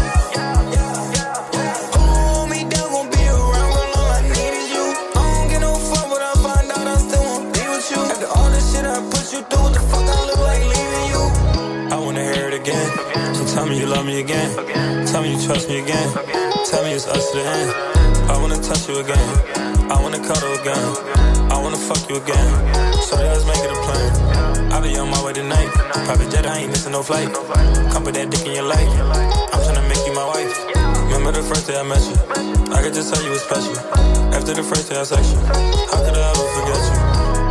Hold me down, gon' be around when all I need is you. I don't get no fuck, but I find out I still won't be with you. After all the shit I put you through, what the fuck I look like leaving you? I wanna hear it again, so tell me you love me again. Tell me you trust me again. Tell me it's us to the end. I wanna touch you again. I wanna cuddle again. I wanna fuck you again. So let's make it a plan. I be on my way tonight. Private jet, I ain't missing no flight. Come put that dick in your life. I'm tryna make you my wife. Remember the first day I met you? I could just tell you was special. After the first day I sex you, how could I ever forget you?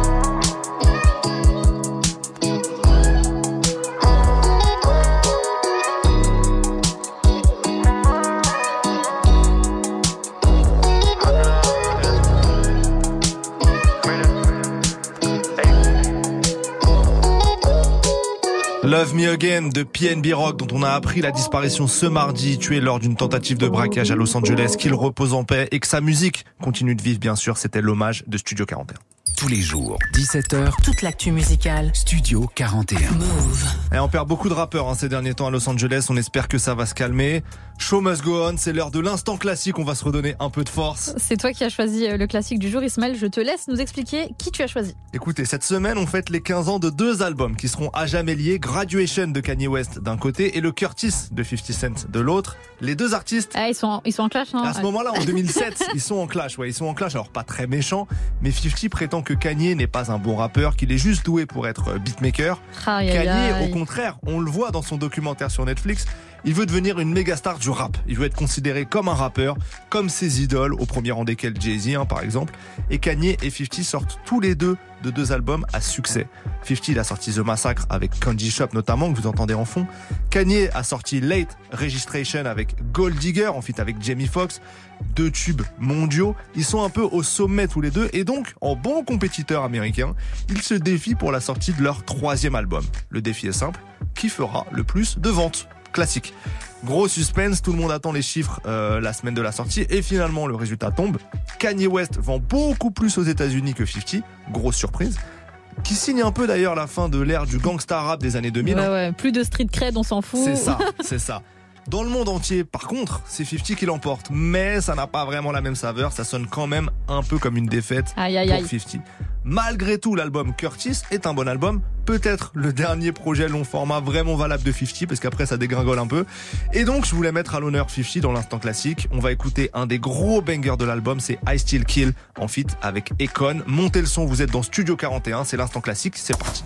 Love Me Again de P N B Rock, dont on a appris la disparition ce mardi, tué lors d'une tentative de braquage à Los Angeles, qu'il repose en paix et que sa musique continue de vivre, bien sûr. C'était l'hommage de Studio quarante et un. Tous les jours, dix-sept heures, toute l'actu musicale. Studio quarante et un. Move. Et on perd beaucoup de rappeurs hein, ces derniers temps à Los Angeles, on espère que ça va se calmer. Show must go on, c'est l'heure de l'instant classique, on va se redonner un peu de force. C'est toi qui as choisi le classique du jour, Ismaël, je te laisse nous expliquer qui tu as choisi. Écoutez, cette semaine on fête les quinze ans de deux albums qui seront à jamais liés Graduation de Kanye West d'un côté et le Curtis de fifty Cent de l'autre. Les deux artistes... Ah, ils sont, ils sont en clash, hein. À ce moment-là, en deux mille sept, ils sont en clash. Ouais, ils sont en clash. Alors, pas très méchants, mais fifty prétend que Kanye n'est pas un bon rappeur, qu'il est juste doué pour être beatmaker. Aïe, aïe, Kanye, aïe. au contraire, on le voit dans son documentaire sur Netflix, il veut devenir une méga star du rap. Il veut être considéré comme un rappeur, comme ses idoles, au premier rang desquels Jay-Z, hein, par exemple. Et Kanye et fifty sortent tous les deux de deux albums à succès. fifty, il a sorti The Massacre avec Candy Shop notamment, que vous entendez en fond. Kanye a sorti Late Registration avec Gold Digger, en feat avec Jamie Foxx. Deux tubes mondiaux. Ils sont un peu au sommet tous les deux et donc, en bon compétiteur américain, ils se défient pour la sortie de leur troisième album. Le défi est simple, qui fera le plus de ventes ? Classique. Gros suspense, tout le monde attend les chiffres euh, la semaine de la sortie et finalement le résultat tombe. Kanye West vend beaucoup plus aux États-Unis que fifty, grosse surprise. Qui signe un peu d'ailleurs la fin de l'ère du gangsta rap des années deux mille. Ouais, ouais, plus de street cred, on s'en fout. C'est ça, c'est ça. Dans le monde entier, par contre, c'est fifty qui l'emporte, mais ça n'a pas vraiment la même saveur, ça sonne quand même un peu comme une défaite aïe, aïe, pour aïe. fifty. Malgré tout, l'album Curtis est un bon album, peut-être le dernier projet long format vraiment valable de fifty, parce qu'après ça dégringole un peu. Et donc, je voulais mettre à l'honneur fifty dans l'instant classique. On va écouter un des gros bangers de l'album, c'est I Still Kill, en feat avec Akon. Montez le son, vous êtes dans Studio quarante et un, c'est l'instant classique, c'est parti.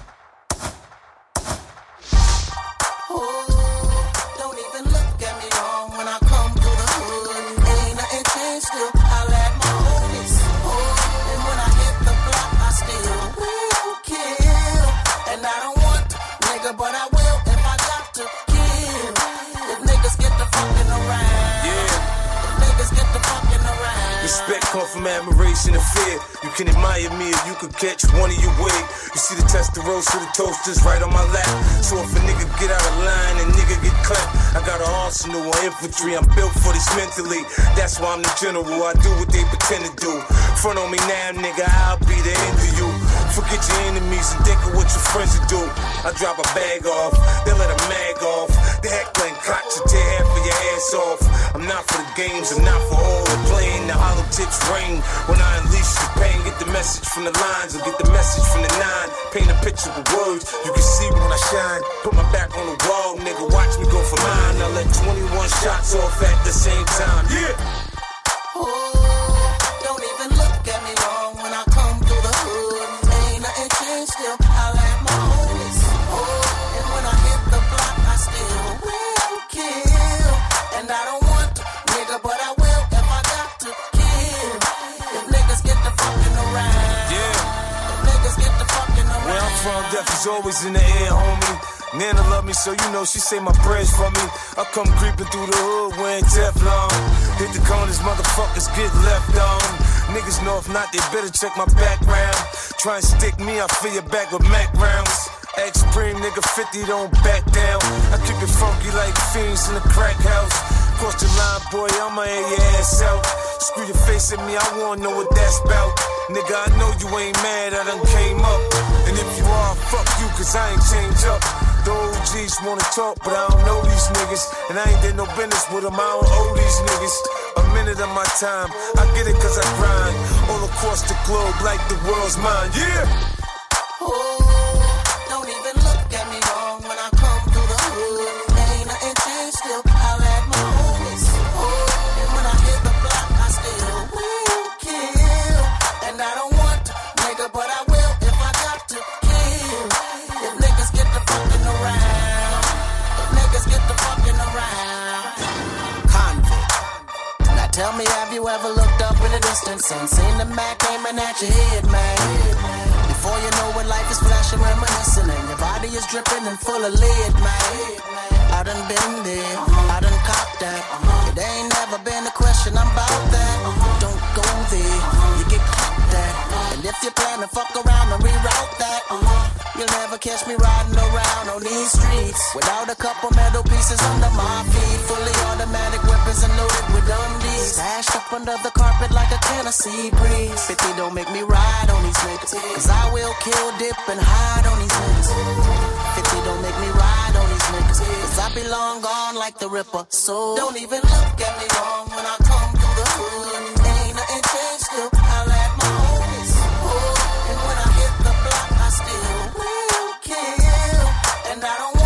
Respect come from admiration and fear. You can admire me if you could catch one of your wig. You see the Testarossa, the toasters right on my lap. So if a nigga get out of line and nigga get clapped, I got an arsenal of infantry. I'm built for this mentally. That's why I'm the general. I do what they pretend to do. Front on me now, nigga, I'll be the end of you. Forget your enemies and think of what your friends will do. I drop a bag off, they let a mag off. The heckling cops will tear half of your ass off. I'm not for the games, I'm not for all the playing. The hollow tips rain when I unleash the pain. Get the message from the lines or get the message from the nine. Paint a picture with words, you can see when I shine. Put my back on the wall, nigga, watch me go for mine. I let twenty-one shots off at the same time, yeah. Ooh, don't even look at me wrong when I come through the hood. Ain't nothing changed still, I like my homies. Ooh, and when I hit the block, I still will kill. And I don't want to, nigga, but I will if I got to kill. If niggas get the fucking around. Yeah. If niggas get the fucking around. Where I'm from, death is always in the air, homie. Nana love me, so you know she say my prayers for me. I come creeping through the hood wearing Teflon. Hit the corners, motherfuckers get left on. Niggas know if not, they better check my background. Try and stick me, I fill your back with Mac rounds. X-Supreme, nigga, fifty, don't back down. I keep it funky like fiends in the crack house. Cross the line, boy, I'ma air your ass out. Screw your face at me, I wanna know what that's about. Nigga, I know you ain't mad, I done came up. And if you are, fuck you, cause I ain't changed up. The O Gs wanna talk, but I don't know these niggas. And I ain't did no business with them, I don't owe these niggas a minute of my time. I get it cause I grind all across the globe like the world's mine, yeah. Ooh, don't even look at me wrong when I come through the hood. Ain't nothing changed still, I like my homies. Ooh, and when I hit the block, I still will kill. And I don't want to, nigga, but I will if I got to kill. If niggas get the fucking around. If niggas get the fucking around. Convict. Now tell me, have you ever looked up in the distance and seen the Mac aiming at your head, man? Before you know it, life is flashing, reminiscing, and your body is dripping and full of lead, man. I done been there, I done copped that. It ain't never been a question, I'm about that. Don't go there, you get caught at. And if you plan to fuck around and reroute that, you'll never catch me riding around on these streets without a couple metal pieces under my feet. Fully automatic weapons and loaded with undies, stashed up under the carpet like a Tennessee breeze. fifty don't make me ride on these niggas, cause I will kill, dip, and hide on these niggas. fifty don't make me ride on these niggas, cause I be long gone like the Ripper. So don't even look at me wrong when I come through the hood. Ain't nothing changed still, I like my homies. Oh, and when I hit the block, I still will kill. And I don't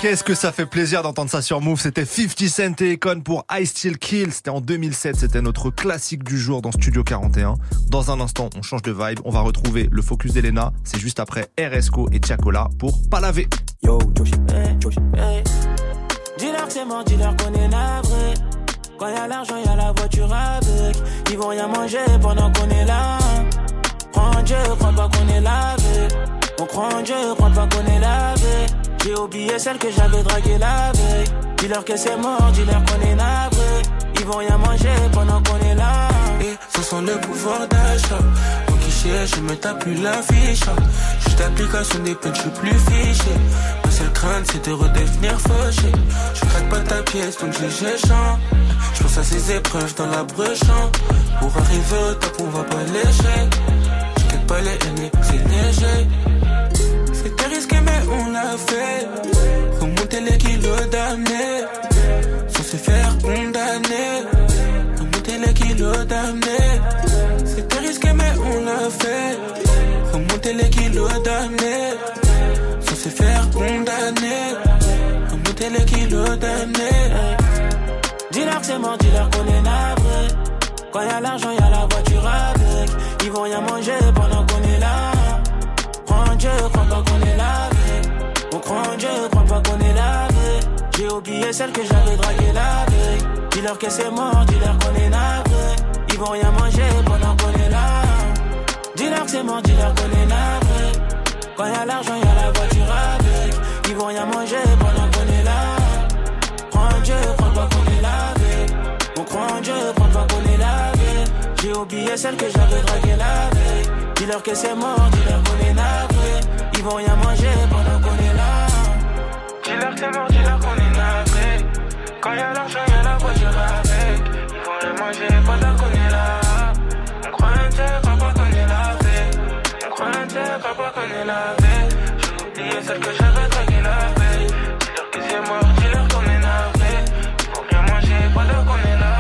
Qu'est-ce que ça fait plaisir d'entendre ça sur Move. C'était fifty Cent et Akon pour I Still Kill. C'était en deux mille sept. C'était notre classique du jour dans Studio quarante et un. Dans un instant, on change de vibe. On va retrouver le focus d'Elena. C'est juste après R S C O et Tiakola pour Pas laver. Yo, Josh, hey, Josh, hey. Dis-leur que c'est mort, dis-leur qu'on est navré. Quand y'a l'argent, y'a la voiture avec. Ils vont rien manger pendant qu'on est là. Crois en Dieu, crois pas qu'on est lavé. On croit en Dieu, crois pas qu'on est lavé. J'ai oublié celle que j'avais draguée la veille. Dis-leur que c'est mort, dis-leur qu'on est navré. Ils vont rien manger pendant qu'on est là. Et ce sont le pouvoir d'achat. Mon guichet, je me tape plus la fiche. Juste l'application des peines, je suis plus fiché. Ma seule crainte, c'est de redevenir fauché. Je craque pas ta pièce, donc je j'échange. Je pense à ces épreuves dans la brechant. Pour arriver au top, on va pas l'échec. Je quitte pas les haines, c'est léger. C'était risqué, mais on l'a fait. Remonter les kilos d'années sans se faire condamner. Remonter les kilos d'années. C'était risqué, mais on l'a fait. Remonter les kilos d'années sans se faire condamner. Remonter les kilos d'années. Dis-leur que c'est mort, dis-leur qu'on est navré. Quand y'a l'argent, y'a la voiture avec. Ils vont rien manger pendant qu'on est là. Crois en Dieu, crois pas qu'on est lavé. On croit en Dieu, crois pas qu'on est lavé. J'ai oublié celle que j'avais draguée la veille. Dis-leur que c'est mort, dis-leur qu'on est navré. Ils vont rien manger pendant qu'on est là. Dis-leur que c'est mort, dis-leur qu'on est navré. Quand y'a l'argent, y'a la voiture avec. Ils vont rien manger pendant qu'on est là. Crois en Dieu, crois pas qu'on est lavé. On croit en Dieu, crois pas qu'on est lavé. J'ai oublié celle que j'avais draguée la veille. Dis-leur que c'est mort, dis-leur qu'on est navré. Ils vont rien manger pendant qu'on est là. Dis-leur que c'est mort, dis-leur qu'on est navré. Quand y'a l'argent, y'a la voiture avec. Ils vont rien manger pendant qu'on est là. On croit un Dieu, crois pas qu'on est lavé. On croit un Dieu, crois pas qu'on est lavé. J'ai oublié celle que j'avais draguée la veille. Dis-leur que c'est mort, dis-leur qu'on est navré. Ils vont rien manger pendant qu'on est là.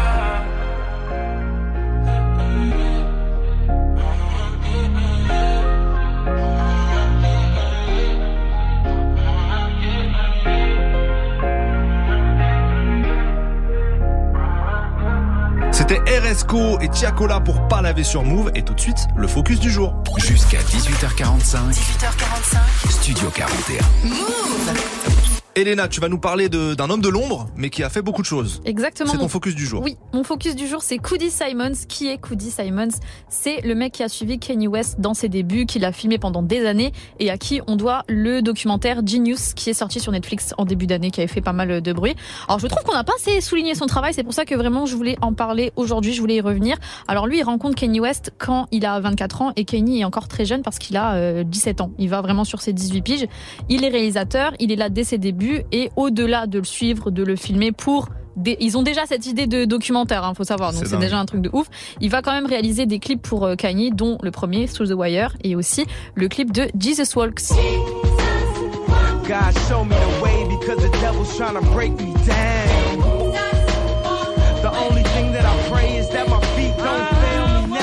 C'était R S C O et Tiakola pour Pas laver sur Move. Et tout de suite, le focus du jour. Jusqu'à dix-huit heures quarante-cinq. dix-huit heures quarante-cinq. Studio quarante et un. Move. Elena, tu vas nous parler de, d'un homme de l'ombre, mais qui a fait beaucoup de choses. Exactement. C'est ton mon... focus du jour. Oui, mon focus du jour, c'est Coodie Simons. Qui est Coodie Simons ? C'est le mec qui a suivi Kanye West dans ses débuts, qui l'a filmé pendant des années et à qui on doit le documentaire Genius, qui est sorti sur Netflix en début d'année, qui avait fait pas mal de bruit. Alors, je trouve qu'on n'a pas assez souligné son travail. C'est pour ça que vraiment, je voulais en parler aujourd'hui. Je voulais y revenir. Alors, lui, il rencontre Kanye West quand il a vingt-quatre ans et Kanye est encore très jeune parce qu'il a euh, dix-sept ans. Il va vraiment sur ses dix-huit piges. Il est réalisateur. Il est là dès ses débuts et au-delà de le suivre, de le filmer pour des... ils ont déjà cette idée de documentaire, hein, faut savoir, donc c'est, c'est déjà un truc de ouf. Il va quand même réaliser des clips pour Kanye, dont le premier Through the Wire et aussi le clip de Jesus Walks. God show me the way because the devil's trying to break me down. The only thing that I pray is that my feet don't fail me now.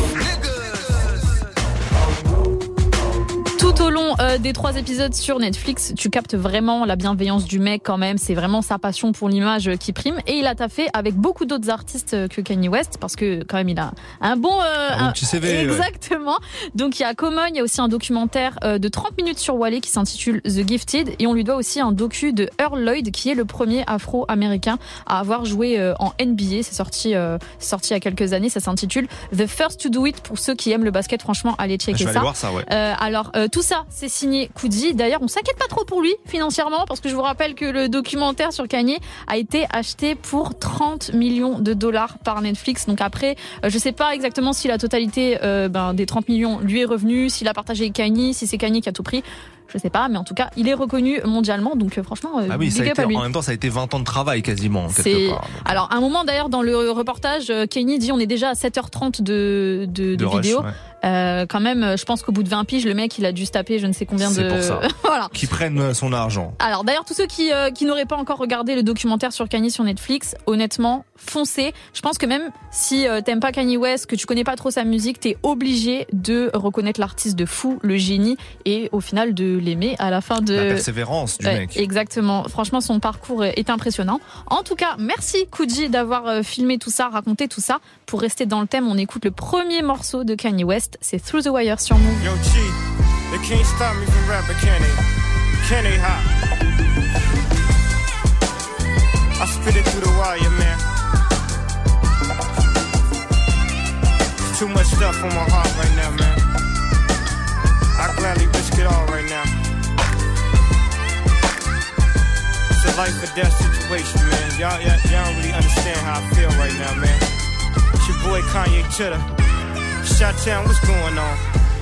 Tout au long euh, des trois épisodes sur Netflix, tu captes vraiment la bienveillance du mec quand même. C'est vraiment sa passion pour l'image qui prime. Et il a taffé avec beaucoup d'autres artistes que Kanye West parce que quand même il a un bon... Euh, un, un petit C V. Exactement. Ouais. Donc il y a Common, il y a aussi un documentaire euh, de trente minutes sur Wale qui s'intitule The Gifted. Et on lui doit aussi un docu de Earl Lloyd qui est le premier afro-américain à avoir joué euh, en N B A. C'est sorti, euh, sorti il y a quelques années. Ça s'intitule The First to Do It. Pour ceux qui aiment le basket, franchement, allez checker Je vais ça. aller voir ça, ouais. Euh, alors, euh, tout ça, c'est signé Coodie. D'ailleurs, on s'inquiète pas trop pour lui financièrement parce que je vous rappelle que le documentaire sur Kanye a été acheté pour trente millions de dollars par Netflix. Donc après, euh, je sais pas exactement si la totalité euh, ben, des trente millions lui est revenue, s'il a partagé avec Kanye, si c'est Kanye qui a tout pris. Je sais pas, mais en tout cas, il est reconnu mondialement, donc euh, franchement, euh, ah oui, ça a big up été, à lui. en même temps, ça a été vingt ans de travail quasiment, c'est... quelque part. Alors, à un moment d'ailleurs, dans le reportage, Kanye dit on est déjà à sept heures trente de, de, de, de rush, vidéo. Ouais. Euh, quand même, je pense qu'au bout de vingt piges, le mec, il a dû se taper je ne sais combien c'est de... pour ça. Voilà. Qui prennent son argent. Alors, d'ailleurs, tous ceux qui, euh, qui n'auraient pas encore regardé le documentaire sur Kanye sur Netflix, honnêtement, foncez. Je pense que même si euh, t'aimes pas Kanye West, que tu connais pas trop sa musique, t'es obligé de reconnaître l'artiste de fou, le génie, et au final de l'aimer à la fin de... La persévérance du ouais, mec. Exactement. Franchement, son parcours est impressionnant. En tout cas, merci Kouji d'avoir filmé tout ça, raconté tout ça. Pour rester dans le thème, on écoute le premier morceau de Kanye West, c'est Through the Wire sur Move. Yo, G, they can't stop me from rapping, can they? Can they hop? I spit it through the wire, man. Too much stuff on my heart right now, man. I gladly risk it all right now. It's a life or death situation, man. Y'all, y'all, y'all don't really understand how I feel right now, man. It's your boy Kanye Chitter. Shot-town, what's going on?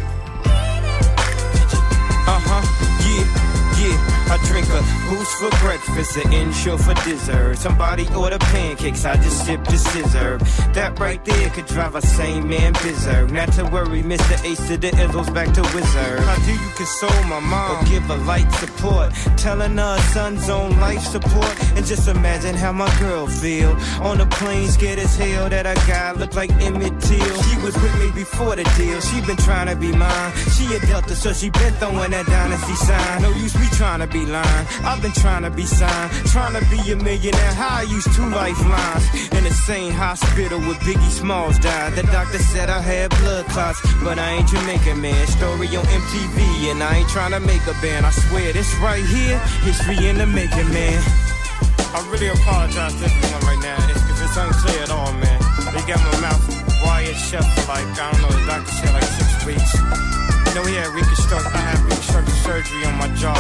Uh-huh, yeah, yeah. I drink a boost for breakfast, an insure for dessert. Somebody order pancakes, I just sip the scissor. That right there could drive a sane man berserk. Not to worry, Mister Ace to the Izzles back to Wizard. How do you console my mom or give her light support? Telling her son's on life support. And just imagine how my girl feel on the plane, scared as hell that a guy looked like Emmett Till. She was with me before the deal, she been trying to be mine. She a Delta, so she been throwing that dynasty sign. No use me trying to be lying. I've been trying to be signed, trying to be a millionaire. How I used two lifelines in the same hospital where Biggie Smalls died. The doctor said I had blood clots, but I ain't Jamaican, man. Story on M T V, and I ain't trying to make a band. I swear this right here, history in the making, man. I really apologize to everyone right now if, if it's unclear at all, man. They got my mouth wired shut for like, I don't know, the doctor said like six weeks. You know, he had reconstruct, I had reconstructive surgery on my jaw.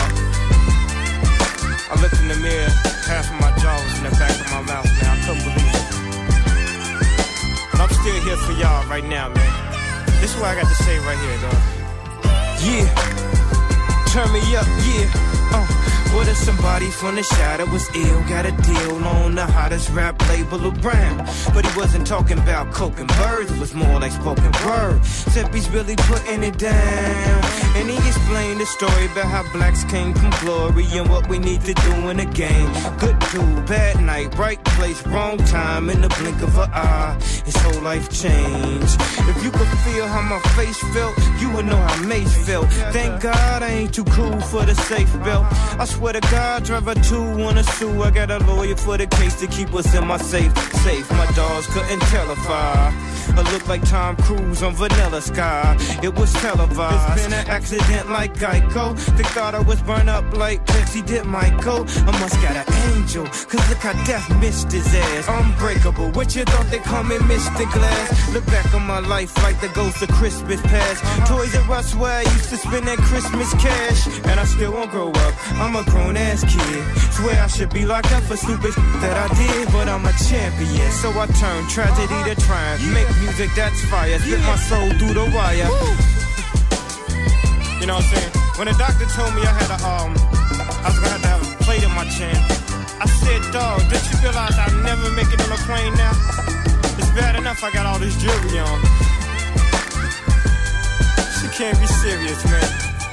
I looked in the mirror, half of my jaw was in the back of my mouth, man. I couldn't believe it. But I'm still here for y'all right now, man. This is what I got to say right here, dog. Yeah, turn me up, yeah. Uh, what if somebody from the shadow was ill? Got a deal on the hottest rap label around. But he wasn't talking about coke and birds, it was more like spoken word. Except he's really putting it down. And he explained the story about how blacks came from glory and what we need to do in the game. Good dude, bad night, right place, wrong time, in the blink of an eye. His whole life changed. If you could feel how my face felt, you would know how Mace felt. Thank God I ain't too cool for the safe belt. I swear to God, driver two wanna sue. I got a lawyer for the case to keep us in my safe. Safe, my dogs couldn't tell if I I look like Tom Cruise on Vanilla Sky. It was televised. It's been an accident like Geico. They thought I was burned up like Pepsi did Michael. I must got an angel, cause look how death missed his ass. Unbreakable, what you thought they call me Mister Glass? Look back on my life like the ghost of Christmas past. Toys R Us where I used to spend that Christmas cash. And I still won't grow up, I'm a grown ass kid. Swear I should be locked up for stupid that I did, but I'm a champion. So I turn tragedy to triumph. Make music that's fire, spit my soul through the wire. You know what I'm saying? When the doctor told me I had a um, I was gonna have to have a plate in my chin, I said, dog, did you realize I'll never make it on a plane now? It's bad enough I got all this jewelry on. She can't be serious, man.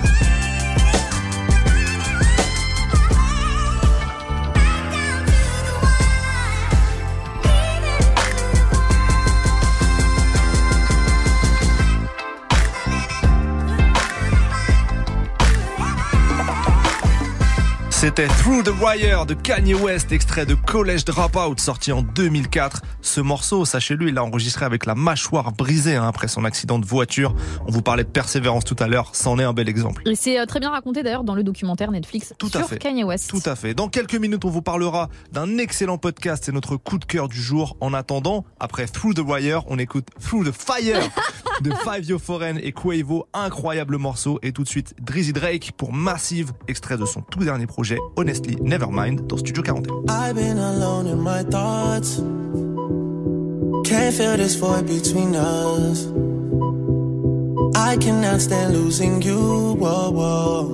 C'était Through the Wire de Kanye West, extrait de College Dropout, sorti en deux mille quatre. Ce morceau, sachez-le, il l'a enregistré avec la mâchoire brisée hein, après son accident de voiture. On vous parlait de persévérance tout à l'heure, c'en est un bel exemple. Et c'est très bien raconté d'ailleurs dans le documentaire Netflix tout sur Kanye West. Tout à fait. Dans quelques minutes, on vous parlera d'un excellent podcast. C'est notre coup de cœur du jour. En attendant, après Through the Wire, on écoute Through the Fire de Fivio Foreign et Quavo. Incroyable morceau. Et tout de suite, Drizzy Drake pour Massive, extrait de son tout dernier projet, Honestly Nevermind, dans Studio quarante et un. I've been alone in my thoughts. Can't feel this void between us. I cannot stand losing you. Whoa, whoa.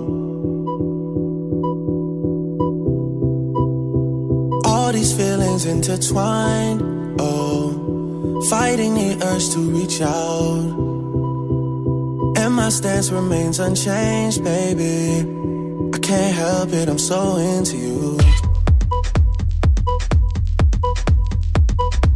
All these feelings intertwined. Oh, fighting the urge to reach out. And my stance remains unchanged, baby. I can't help it, I'm so into you.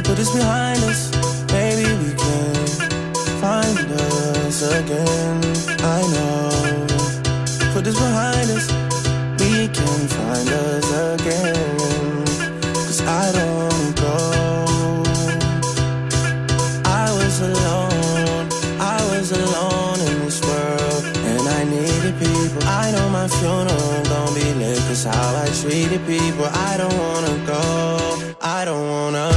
put this behind us. Maybe we can find us again. I know. Put this behind us. We can find us again. Cause I don't go. I was alone. I was alone in this world. And I needed people. I know my funeral gon' be lit. Cause how I treated people. I don't wanna go. I don't wanna.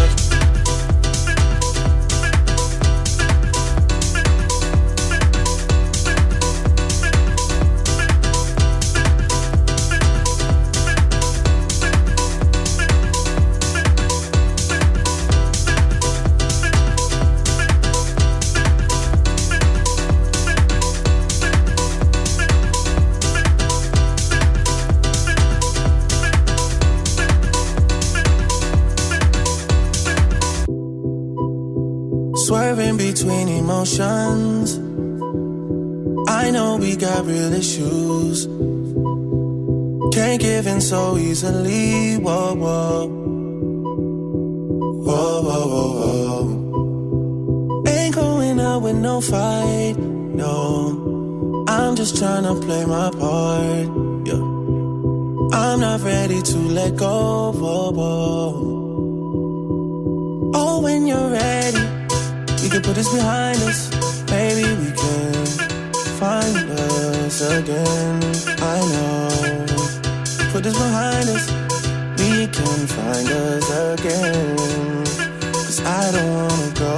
Swerving between emotions. I know we got real issues. Can't give in so easily. Whoa, whoa. Whoa, whoa, whoa, whoa. Ain't going out with no fight. No, I'm just trying to play my part. Yeah. I'm not ready to let go. Whoa, whoa. Oh, when you're ready, we can put this behind us. Maybe we can find us again. I know. Put this behind us. We can find us again. Cause I don't wanna go.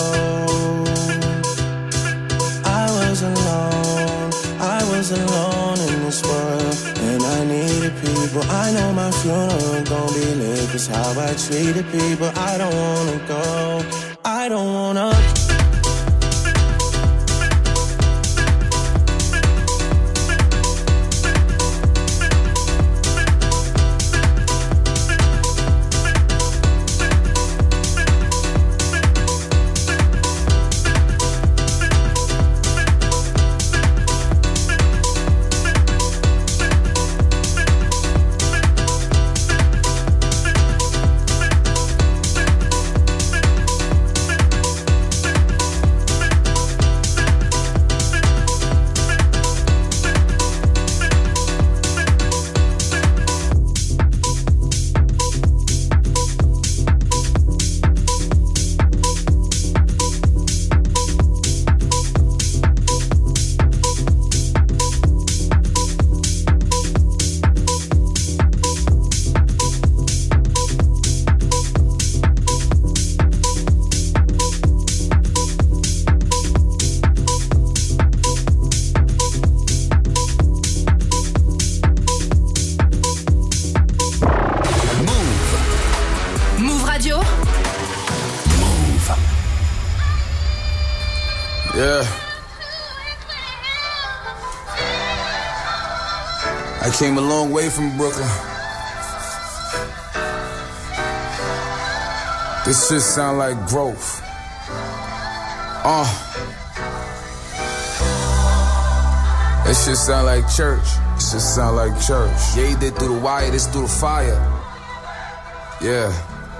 I was alone. I was alone in this world. And I needed people. I know my funeral gon' be lit. Cause how I treated people. I don't wanna go. I don't wanna. Came a long way from Brooklyn. This shit sound like growth. Uh. This shit sound like church. This shit sound like church. Yeah, he did through the wire, this through the fire. Yeah.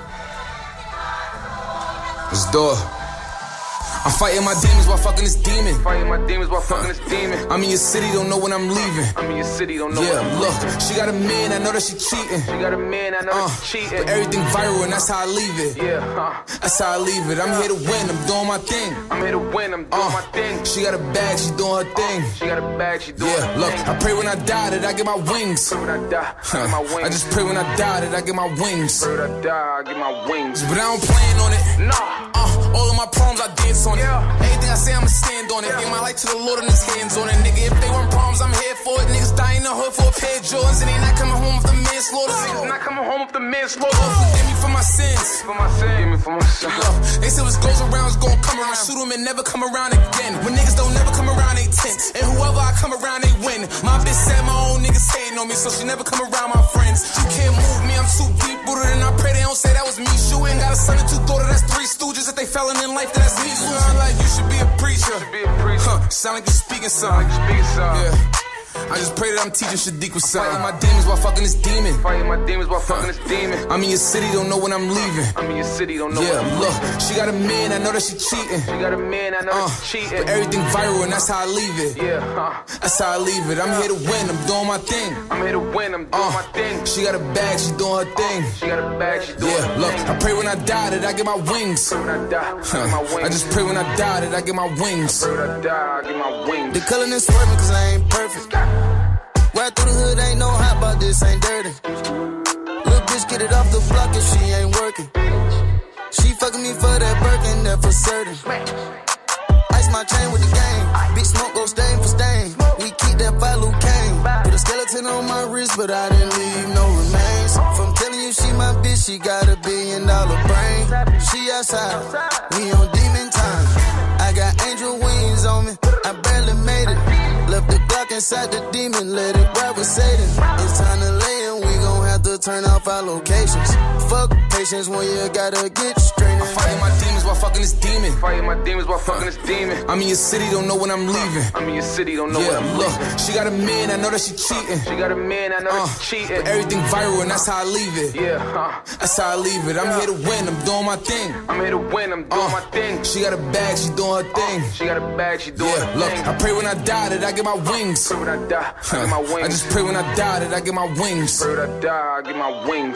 Let's do it. I'm fighting my demons while fucking this demon. Fighting my demons while fucking this demon. I'm in your city, don't know when I'm leaving. I'm in your city, don't know. Yeah, when I'm look, leaving. She got a man, I know that she cheating. She got a man, I know uh, that she cheating. But everything viral and that's how I leave it. Yeah, huh. That's how I leave it. I'm here to win, I'm doing my thing. I'm here to win, I'm doing uh, my thing. She got a bag, she doing her thing. Uh, she got a bag, she doing yeah, her look, thing. I pray when I die that I get my wings. Pray when I die, I get my wings. I just pray when I die that I get my wings. Pray when I die, I get my wings. But I don't plan on it. Nah. Uh, all of my problems, I dance on it. Yeah. Everything I say, I'ma stand on it. Yeah. Give my life to the Lord and his hands on it. Nigga, if they want problems, I'm here for it. Niggas die in the hood for a pair of Jordans. And they not coming home with the manslaughter. Niggas not coming home with the manslaughter. Lord, forgive me for my sins. For my sins. Forgive me for my sins. Look, they say what goes around is gonna come around. Shoot them and never come around again. When niggas don't never come around, they tense. And whoever I come around, they win. My bitch said my own niggas hating on me, so she never come around my friends. You can't move me, I'm too deep rooted. And I pray they don't say that was me shooting. Got a son and two daughters, that's three stooges. If they fell in life, that's me. Sound like you should be a preacher. Should be a preacher. Huh, sound like you speaking something. Like you speaking something. Yeah. I just pray that I'm teaching Shadiq with something. Fighting my demons while fucking this demon. Fighting my demons while fucking this demon. I'm in your city, don't know when I'm leaving. I'm in your city, don't know. Yeah, look, she got a man, I know that she cheating. She got a man, I know uh, that she cheating. But everything viral and that's how I leave it. Yeah, huh. That's how I leave it. I'm here to win, I'm doing my thing. I'm here to win, I'm doing uh, my thing. She got a bag, she doing her thing. She got a bag, she doing yeah, her look, thing. I pray when I die that I get my wings. I, pray when I, die, I, get my wings. I just pray when I die that I get my wings. I pray when I die, I get my wings. The color is swerving cause I ain't perfect. Right through the hood, ain't no hot, but this ain't dirty. Little bitch, get it off the block if she ain't working. She fucking me for that Birkin, that for certain. Ice my chain with the game. Big smoke go stain for stain. We keep that follow cane. Put a skeleton on my wrist, but I didn't leave no remains. From telling you she my bitch, she got a billion dollar brain. She outside, we on demon time. I got angel wings on me, I barely made it. Left the Glock inside the demon, let it ride with Satan. It's time to lay in, we gon' have to turn off our locations. Fuck patience when you gotta get straight. I'm fighting my demons while fucking this demon. Fighting my demons while fucking this demon. I'm in your city, don't know when I'm leaving. I'm in your city, don't know yeah, when I'm look, leaving. She got a man, I know that she cheating. She got a man, I know uh, that she cheating. But everything viral and that's how I leave it. Yeah, huh. That's how I leave it. I'm here to win, I'm doing my thing. I'm here to win, I'm doing uh, my thing. She got a bag, she doing her thing. Uh, she got a bag, she doing yeah, her look, thing. I pray when I die that I get my wings. Pray when I die, I get my wings. I just pray when I die that I get my wings. Pray when I die, I get my wings.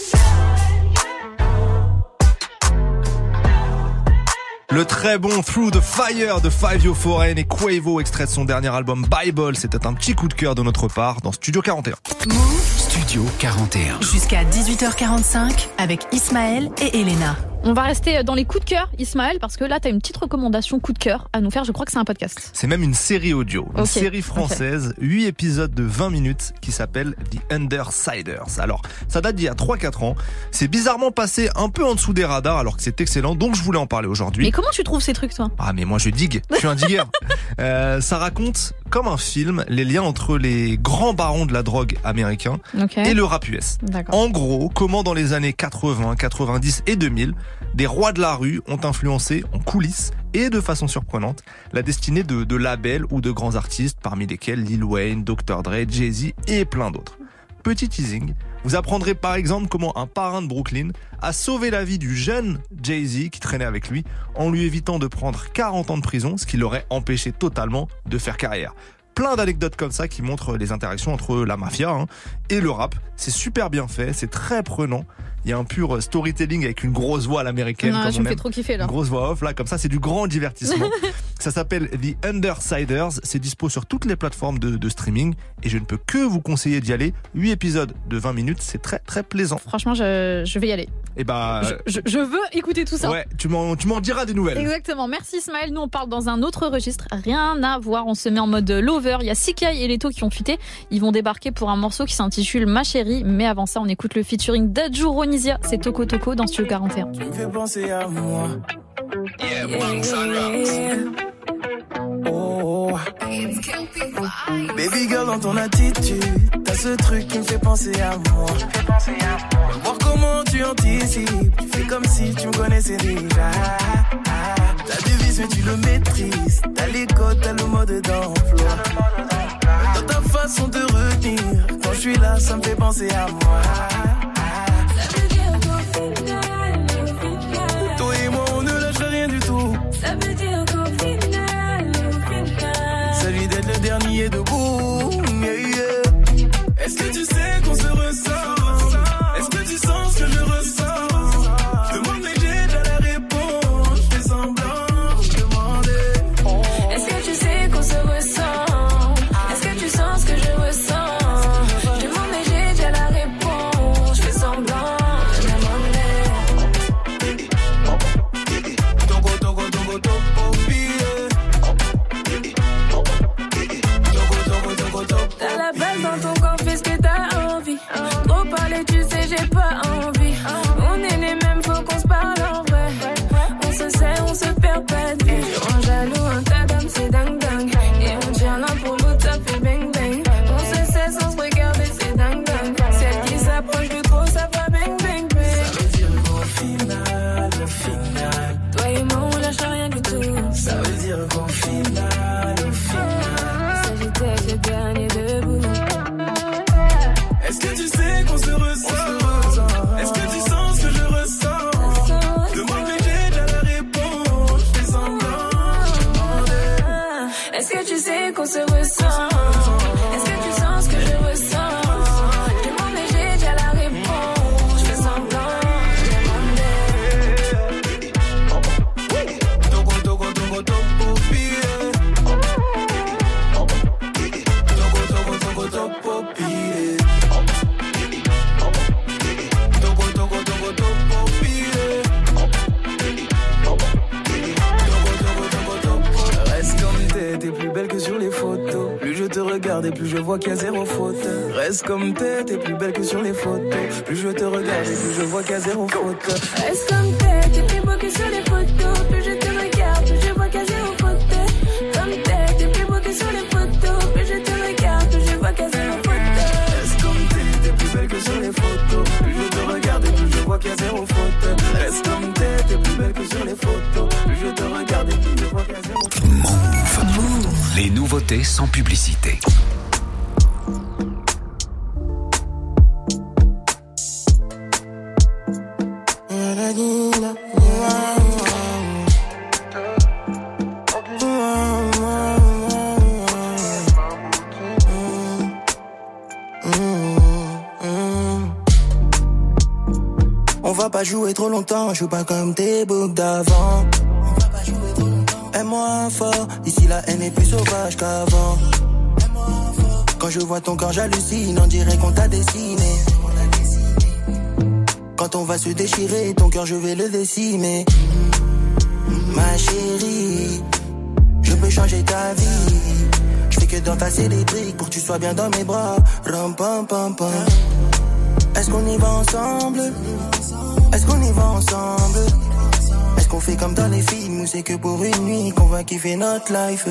Le très bon Through the Fire de Fivio Foreign et Quavo, extrait de son dernier album Bible. C'était un petit coup de cœur de notre part dans Studio quarante et un. Move Studio quarante et un. Jusqu'à dix-huit heures quarante-cinq avec Ismaël et Elena. On va rester dans les coups de cœur, Ismaël, parce que là, tu as une petite recommandation coup de cœur à nous faire. Je crois que c'est un podcast. C'est même une série audio, une okay. série française, okay. huit épisodes de vingt minutes qui s'appelle The Undersiders. Alors, ça date d'il y a trois quatre ans. C'est bizarrement passé un peu en dessous des radars alors que c'est excellent, donc je voulais en parler aujourd'hui. Mais comment tu trouves ces trucs, toi ? Ah, mais moi je digue, je suis un digueur. euh, ça raconte, comme un film, les liens entre les grands barons de la drogue américains okay. et le rap U S. D'accord. En gros, comment dans les années quatre-vingts, quatre-vingt-dix et deux mille, des rois de la rue ont influencé en coulisses et de façon surprenante la destinée de, de labels ou de grands artistes, parmi lesquels Lil Wayne, docteur Dre, Jay-Z et plein d'autres. Petit teasing, vous apprendrez par exemple comment un parrain de Brooklyn a sauvé la vie du jeune Jay-Z qui traînait avec lui en lui évitant de prendre quarante ans de prison, ce qui l'aurait empêché totalement de faire carrière. Plein d'anecdotes comme ça qui montrent les interactions entre la mafia hein, et le rap. C'est super bien fait, c'est très prenant. Il y a un pur storytelling avec une grosse voix à l'américaine. Non, comme je on me aime. fais trop kiffer là. Une grosse voix off là, comme ça, c'est du grand divertissement. Ça s'appelle The Undersiders. C'est dispo sur toutes les plateformes de, de streaming et je ne peux que vous conseiller d'y aller. huit épisodes de vingt minutes, c'est très très plaisant. Franchement, je, je vais y aller. Et bah, je, je, je veux écouter tout ça. Ouais, tu m'en, tu m'en diras des nouvelles. Exactement. Merci Ismaël. Nous on parle dans un autre registre. Rien à voir. On se met en mode lover. Il y a Sikai et Leto qui ont fuité. Ils vont débarquer pour un morceau qui s'intitule Ma chérie. Mais avant ça, on écoute le featuring d'Adju Ronisia. C'est Toko Toko dans Studio quarante et un. Tu me fais penser à moi. Yeah, yeah. Oh, oh. Baby girl, dans ton attitude, t'as ce truc qui me fait penser à moi. Voir comment tu anticipes, tu fais comme si tu me connaissais déjà. T'as du vice mais tu le maîtrises, t'as les codes, t'as le mode d'emploi. Dans ta façon de retenir, quand je suis là, ça me fait penser à moi. Ça veut dire qu'au final, au final, toi et moi on ne lâche rien du tout. Ça veut dire qu'au final, au final, celui d'être le dernier debout. Yeah, yeah. Est-ce que tu sais qu'on se ressent? Est-ce que tu sens ce que je ressens? Je demande mais j'ai déjà la réponse. Je fais semblant, je demandais. est-ce que tu sais qu'on se ressent? Est-ce que tu sens ce que je ressens? Je demande mais j'ai déjà la réponse. Je fais semblant, je demandais. Togo, togo, togo, togo, billet. Togo, togo. Est-ce que tu sais qu'on se ressent? Est-ce que tu sens ce que je ressens? Je demande mais j'ai déjà la réponse. Je fais semblant, je demandais. Togo, togo, togo, togo, pire. Togo, togo, togo, togo, pire. Togo, togo, togo, togo, pire. Reste comme t'es, t'es plus belle que sur les photos. Plus je te regarde et plus je vois qu'il y a zéro faute. Reste comme t'es, t'es plus belle que sur les photos. Plus je te regarde et plus je vois qu'il y a zéro faute. Reste comme t'es, t'es plus beau que sur les photos. Plus je te regarde, plus je vois qu'il y a zéro faute. Comme t'es, t'es plus beau que sur les photos. Plus je te regarde, plus je vois qu'il y a zéro faute. Reste comme t'es, t'es plus belle que sur les photos. Plus je te regarde et plus je vois qu'il y a zéro faute. Reste comme t'es, t'es plus belle que sur les photos. Plus je te regarde et plus je vois qu'il y a zéro faute. Move. Les nouveautés sans publicité. On va pas jouer trop longtemps, je joue pas comme tes boucs d'avant. Aime-moi fort, ici la haine est plus sauvage qu'avant. Quand je vois ton corps j'hallucine, on dirait qu'on t'a dessiné. Quand on va se déchirer, ton cœur je vais le décimer. Ma chérie, je peux changer ta vie. Je fais que d'entasser des briques pour que tu sois bien dans mes bras. Ram pam pam pam. Est-ce qu'on y va ensemble? Est-ce qu'on y va ensemble? Est-ce qu'on fait comme dans les films ou c'est que pour une nuit qu'on va kiffer notre life?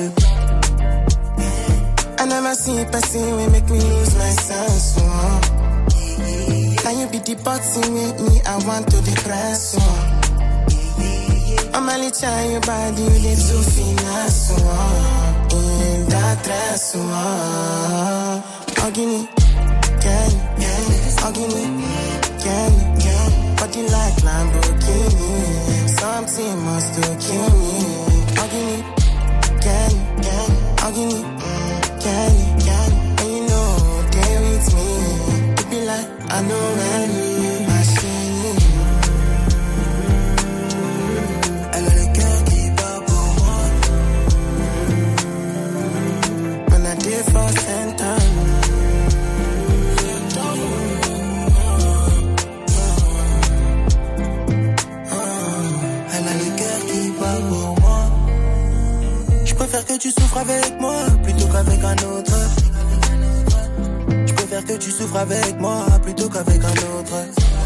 I never see passing we make me lose my sense. Oh. Now you be the boxing with me, I want to depress. Oh. I'm only trying your body, you live so finesse. Oh. In that dress. Oh. Ogini, can you? Ogini, can you? Body like Lamborghini, something must have kill me. Ogini, can you? Ogini, can you? And you know they with me. It be like I know when you machine. Elle a le cœur qui bat pour moi. When I did for center. Je préfère que tu souffres avec moi plutôt qu'avec un autre. Je préfère que tu souffres avec moi plutôt qu'avec un autre.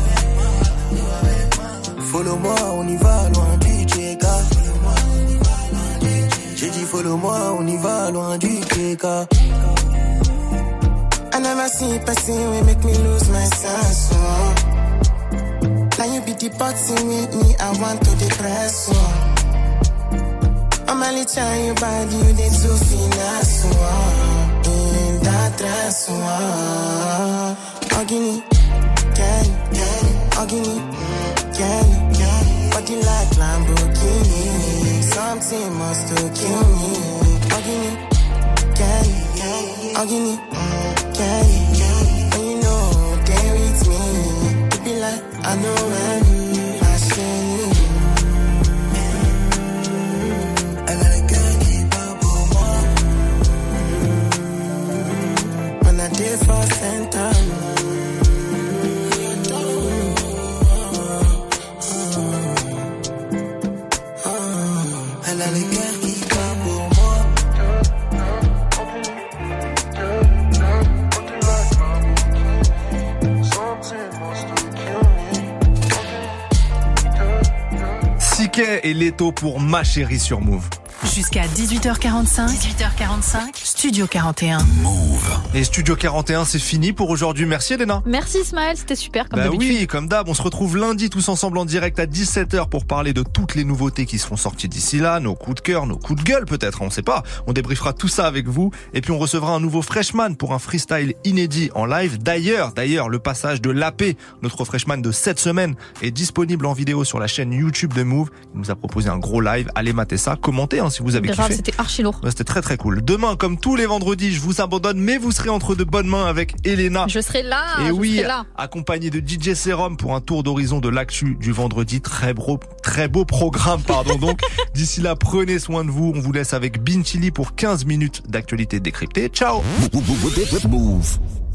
Follow-moi, on y va loin du J K. J'ai dit follow-moi, on y va loin du J K. I never see passing we make me lose my sense. Oh. Now you be the boxing with me, I want to depress. Oh. I'm only trying your body, you did so finesse. Oh. In that dress. Oh. Ogini, can you? Ogini, can you? Body like Lamborghini, something must have kill me. Ogini, can you? Ogini, can you? And you know they with me. It be like I know when you machine. Elle a le cœur qui bat pour moi. When I did for center. Elle a le cœur qui bat pour moi. Siké et Leto pour Ma Chérie sur Move. Jusqu'à dix-huit heures quarante-cinq. dix-huit heures quarante-cinq. Studio quarante et un. Move. Et Studio quarante et un, c'est fini pour aujourd'hui. Merci Elena. Merci Ismaël, c'était super comme bah d'habitude. Oui, comme d'hab, on se retrouve lundi tous ensemble en direct à dix-sept heures pour parler de toutes les nouveautés qui seront sorties d'ici là, nos coups de cœur, nos coups de gueule peut-être, on sait pas. On débriefera tout ça avec vous et puis on recevra un nouveau freshman pour un freestyle inédit en live. D'ailleurs, d'ailleurs, le passage de l'A P, notre freshman de cette semaine, est disponible en vidéo sur la chaîne YouTube de Move. Il nous a proposé un gros live. Allez mater ça, commentez hein, hein, si vous avez Grave, kiffé. c'était archi lourd. Ouais, c'était très très cool. Demain, comme tous les vendredis, je vous abandonne, mais vous serez entre de bonnes mains avec Elena. Je serai là. Et je oui, serai là. accompagné de D J Serum pour un tour d'horizon de l'actu du vendredi. Très beau, très beau programme, pardon. Donc, d'ici là, prenez soin de vous. On vous laisse avec Bin Chili pour quinze minutes d'actualité décryptée. Ciao. Move.